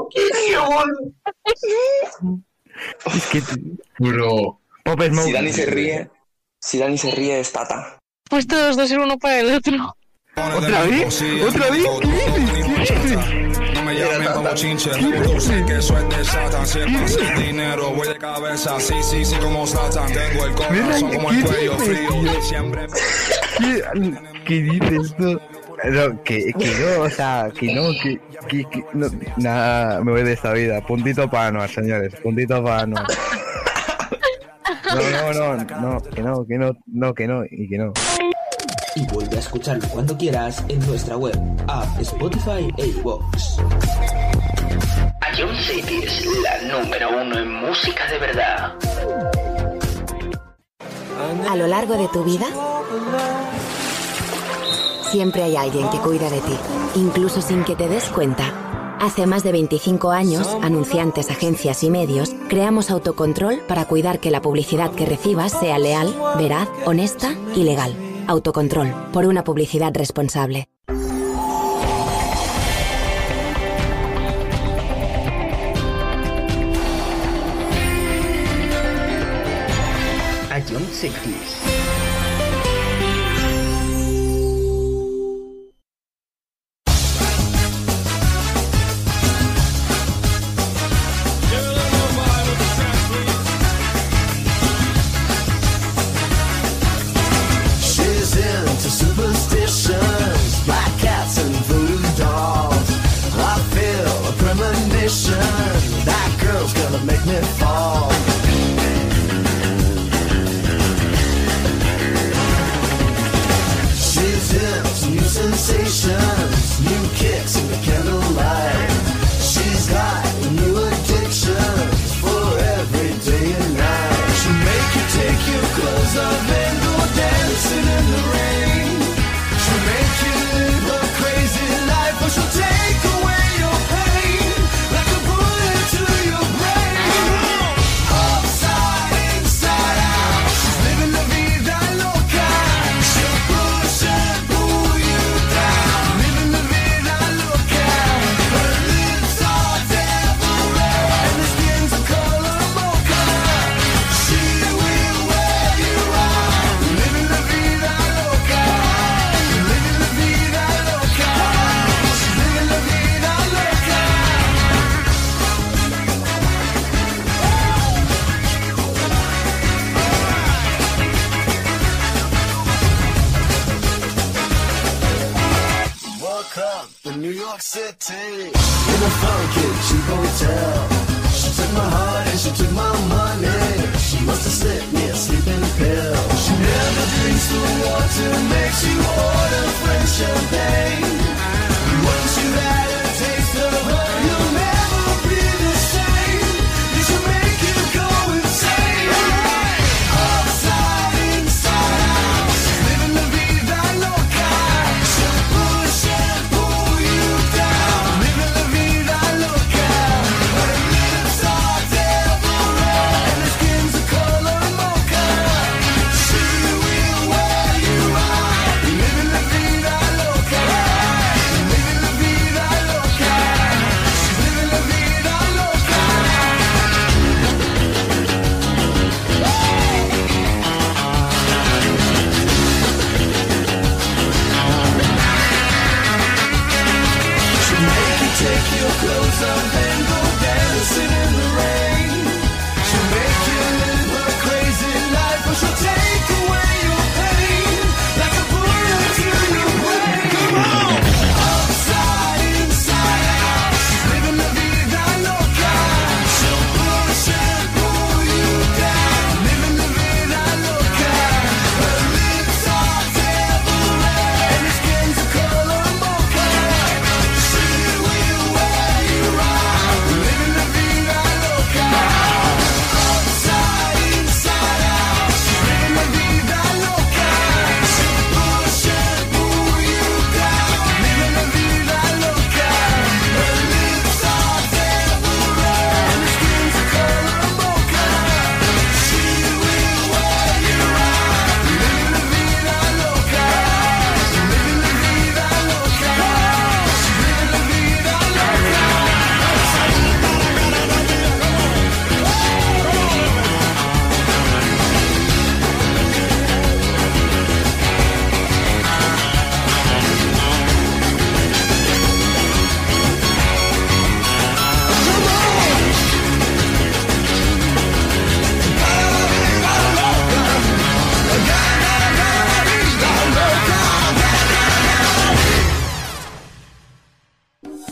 Es que... Bro. Pop Smoke. Si Dani se ríe es Tata. Pues todos dos ser uno para el otro. ¿Otra vez? ¿Otra vez? ¿Qué dices? No me llamen como chinche, tú sé que eso es de Satan. Si es pasa el dinero, voy de cabeza, sí, como Satan. Tengo el corazón como el cuello frío, siempre. ¿Qué dices tú? No, que no, o sea, que no, nada, me voy de esta vida. Puntito para Anuar, señores, puntito para Anuar. No, que no. Y vuelve a escucharlo cuando quieras en nuestra web, app, Spotify e iVoox. A Jones Cities, la número 1 en música de verdad. A lo largo de tu vida, siempre hay alguien que cuida de ti, incluso sin que te des cuenta. Hace más de 25 años, anunciantes, agencias y medios, creamos Autocontrol para cuidar que la publicidad que recibas sea leal, veraz, honesta y legal. Autocontrol, por una publicidad responsable. A Jones Cities.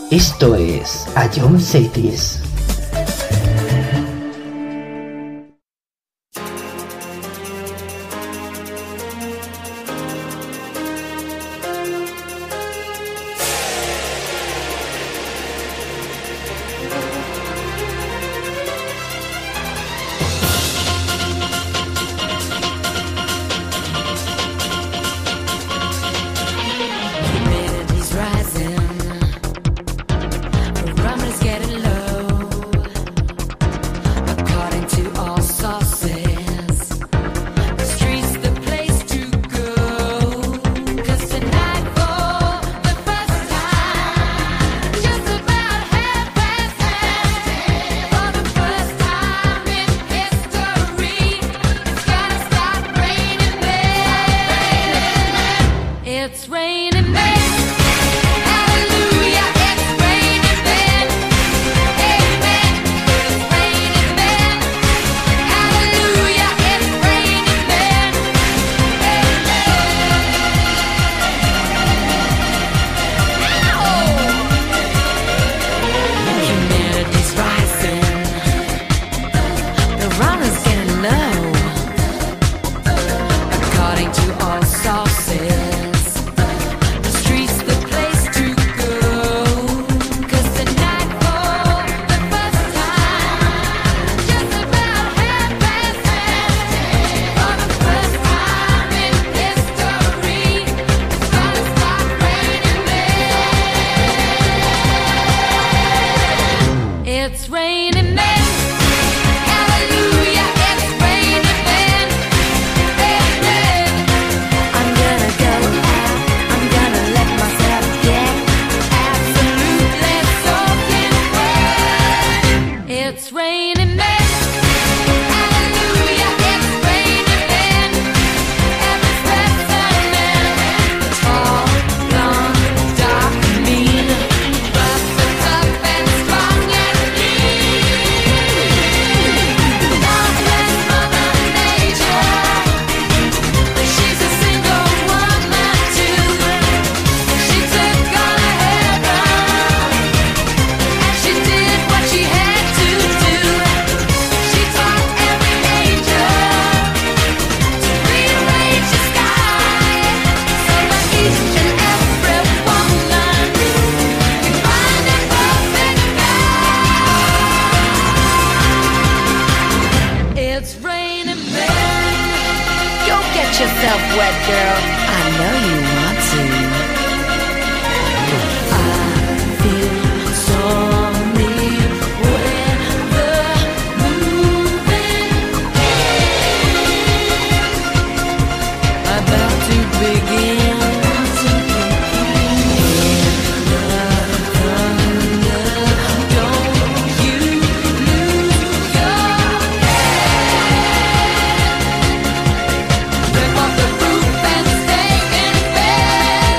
Esto es Ion Cities. Humidity's rising, barometer's getting low. According to all sources, the street's the place to go. 'Cause tonight, for the first time, just about 10:30, for the first time in history, it's gonna start raining men. It's raining men. Hallelujah, it's raining men. Amen. It's raining men. Hallelujah, it's raining men. Amen. Humidity's rising. The runner's getting low. According to all sources, the street's the place to go. 'Cause tonight, for the first time, just about 10:30, for the first time in history, it's gonna start raining men. It's raining men. Hallelujah, it's raining men. Amen. I'm gonna go out, I'm gonna let myself get absolutely soaking wet. It's raining men. Hallelujah, it's raining men. Every specimen, tall, blonde, dark, mean, rough and tough and strong and mean. God bless Mother Nature. She's a single woman too. She took all her hair out, and she did what she had to do. She taught every angel to rearrange the sky, so that each and every woman can find a perfect guy. It's raining men. Go get yourself wet, girl. I know you want to. I feel stormy weather moving, about to begin to hear the thunder. Don't you lose your rip off the roof and stay in bed.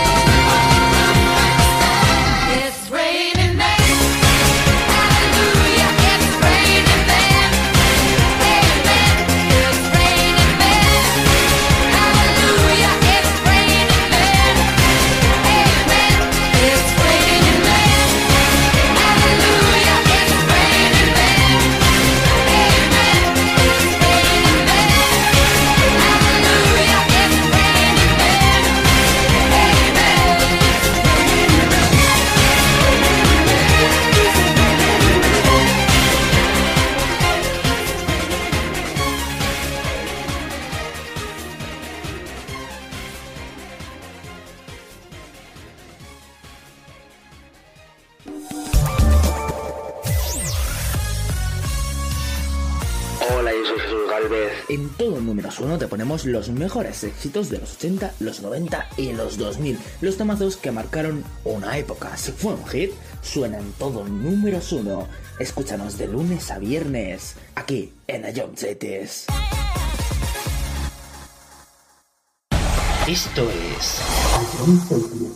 It's raining men. Hallelujah, it's raining men. Amen. It's raining men. Hallelujah, it's raining men. Amen. It's raining men. Hallelujah, it's raining men. Amen. It's raining men. Hallelujah, it's raining men. Hola, yo soy Jesús Galvez. En todo números 1 te ponemos los mejores éxitos de los 80, los 90 y los 2000. Los temazos que marcaron una época. Si fue un hit, suena en todo números 1. Escúchanos de lunes a viernes, aquí en Ion Cities. Esto es Ion Cities.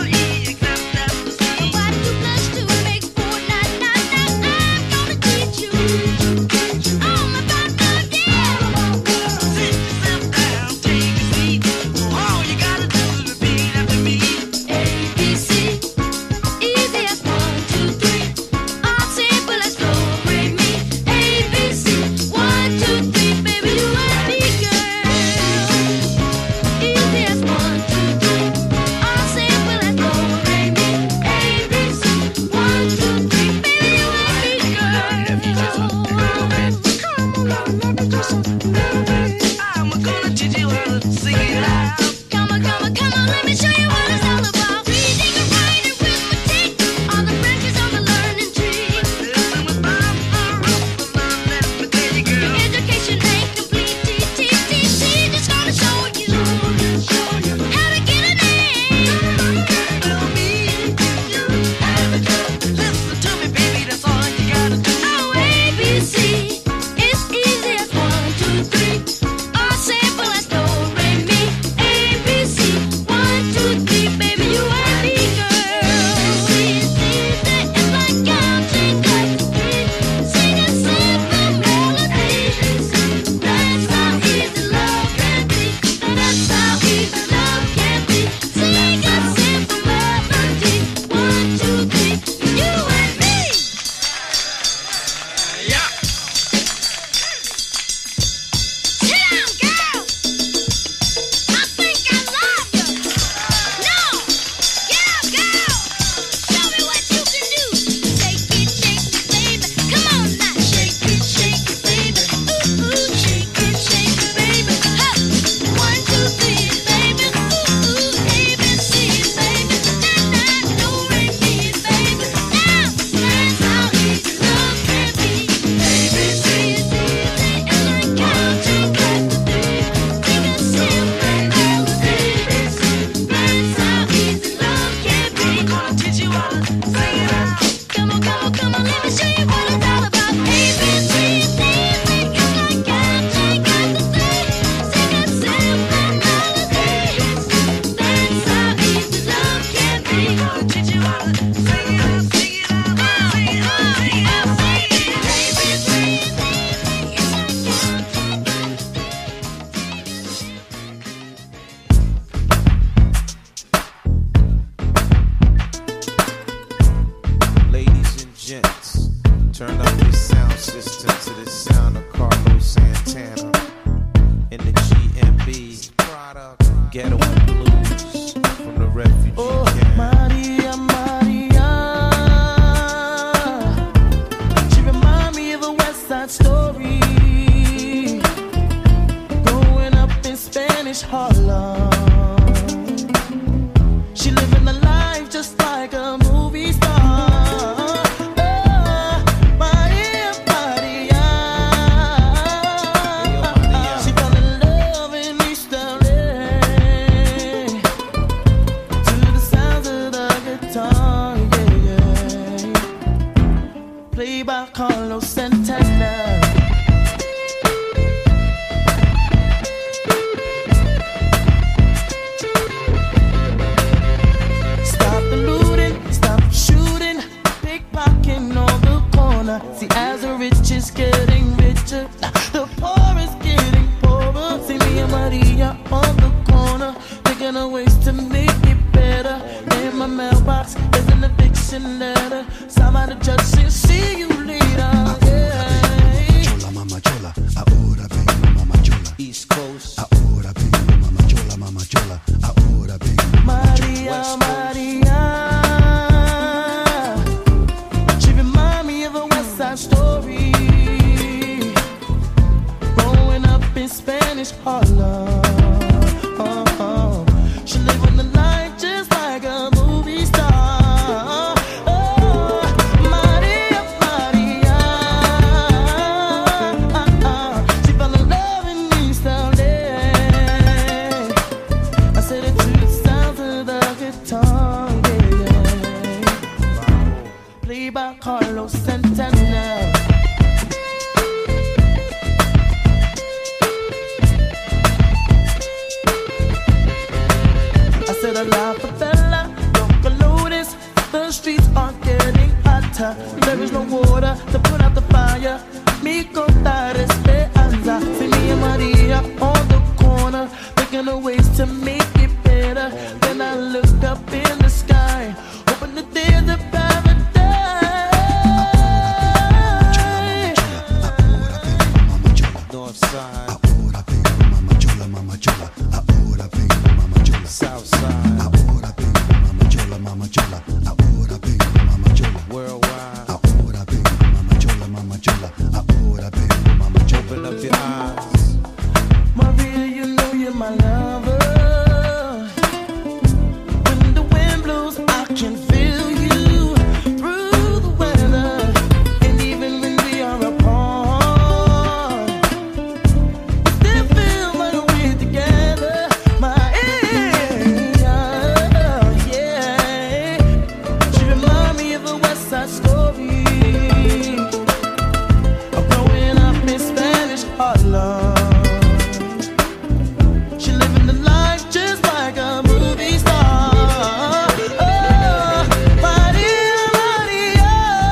Teach you Side Story. Growing up in Spanish Harlem, she living the life just like a movie star. Maria, Maria. She fell in love in East LA to the sounds of the guitar, yeah, yeah. Played by Carlos Santana. See, as the rich is getting richer, the poor is getting poorer. See me and Maria on the corner, thinking of ways to make it better. In my mailbox is an eviction letter. Somebody just said, see you later. Yeah. Chola, mama chola, ahora vengo, mama chola. East Coast, ahora vengo, mama chola, mama chola. Ahora vengo, mama chola. Maria, Maria. Side Story. Growing up in Spanish Harlem, she living the life just like a movie star. Maria, Maria. She fell in love in East LA. I said it to the sounds of the guitar, yeah. Played by Carlos Santana. La favela, local lotus, the streets are getting hotter. There is no water to put out the fire. Mi contar esperanza. See me and Maria on the corner, thinking of ways to make it better. Then I look up in the sky, hoping that there's a paradise. North side. Ahora vengo, mama chola, mama chola. Ahora vengo, mama chola. South side. Ahora vengo, mama chola, mama chola. Ahora vengo, mama chola. Worldwide. Ahora vengo, mama chola, mama chola. Ahora vengo, mama chola. Open up your eyes, Maria. You know you're my lover. When the wind blows, I can feel you through the weather, and even when we are apart, still feel like we're together. My yeah. She remind me of a West Side Story. I'm growing up in Spanish Harlem. She living the life just like a movie star. Oh, Maria, Maria.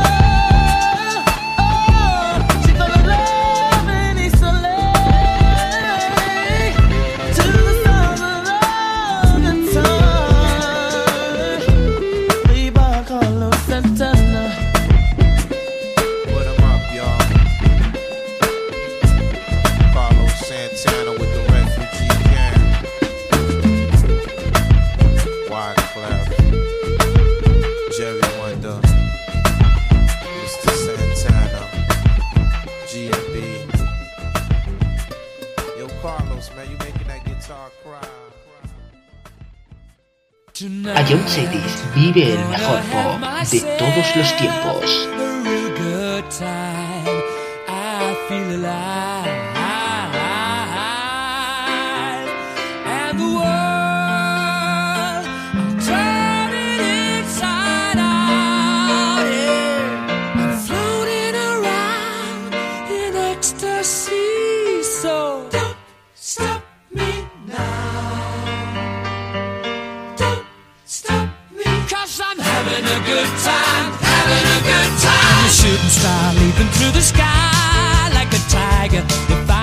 Oh, she fell in love in East LA to the sounds of the guitar. Played by Carlos Santana. Put 'em up, y'all. Carlos Santana with the refugee gang. Wyclef, Jerry Wonder, Mr. Santana, G&B. Yo, Carlos, man, you making that guitar cry. A Young Cities vive el mejor pop de todos los tiempos. A real good time. I feel alive. And the world, I'm turning inside out. Yeah. I'm floating around in ecstasy. So don't stop me now. Don't stop me. 'Cause I'm having a good time. Having a good time. The shooting star leaping through the sky like a tiger. If I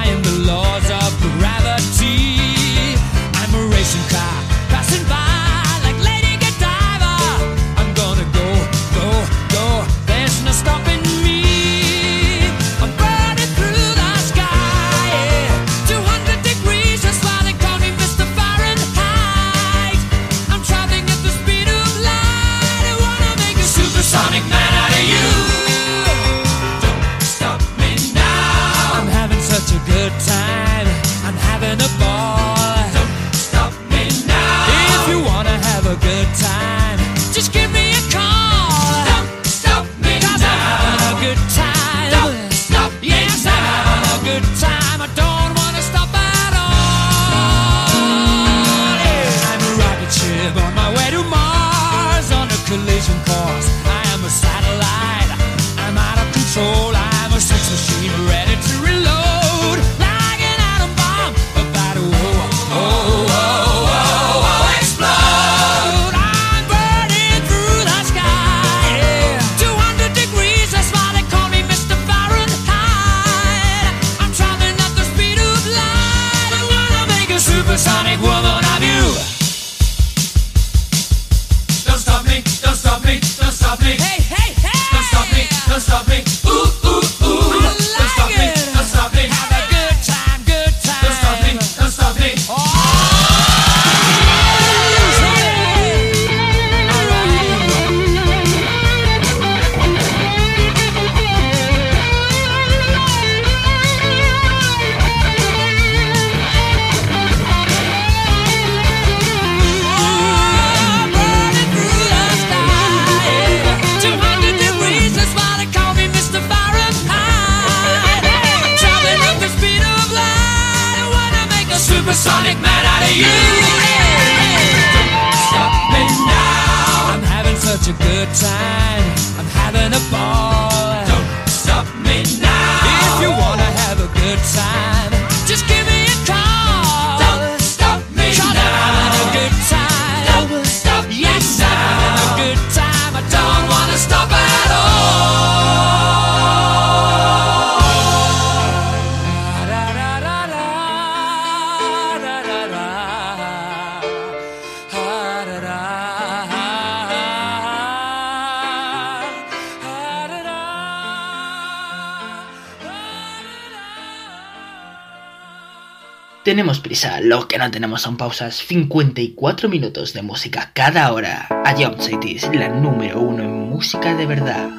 Sonic man out of you. Don't stop me now. I'm having such a good time. I'm having a ball. Don't stop me now. If you wanna have a good time, just give me a call. Don't stop me now. I'm having a good time. Don't stop me now. Yes, I'm having a good time. I don't wanna stop at all. Tenemos prisa, lo que no tenemos son pausas. 54 minutos de música cada hora. A Jump City es la número 1 en música de verdad.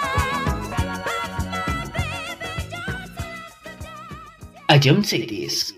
A Jump Cities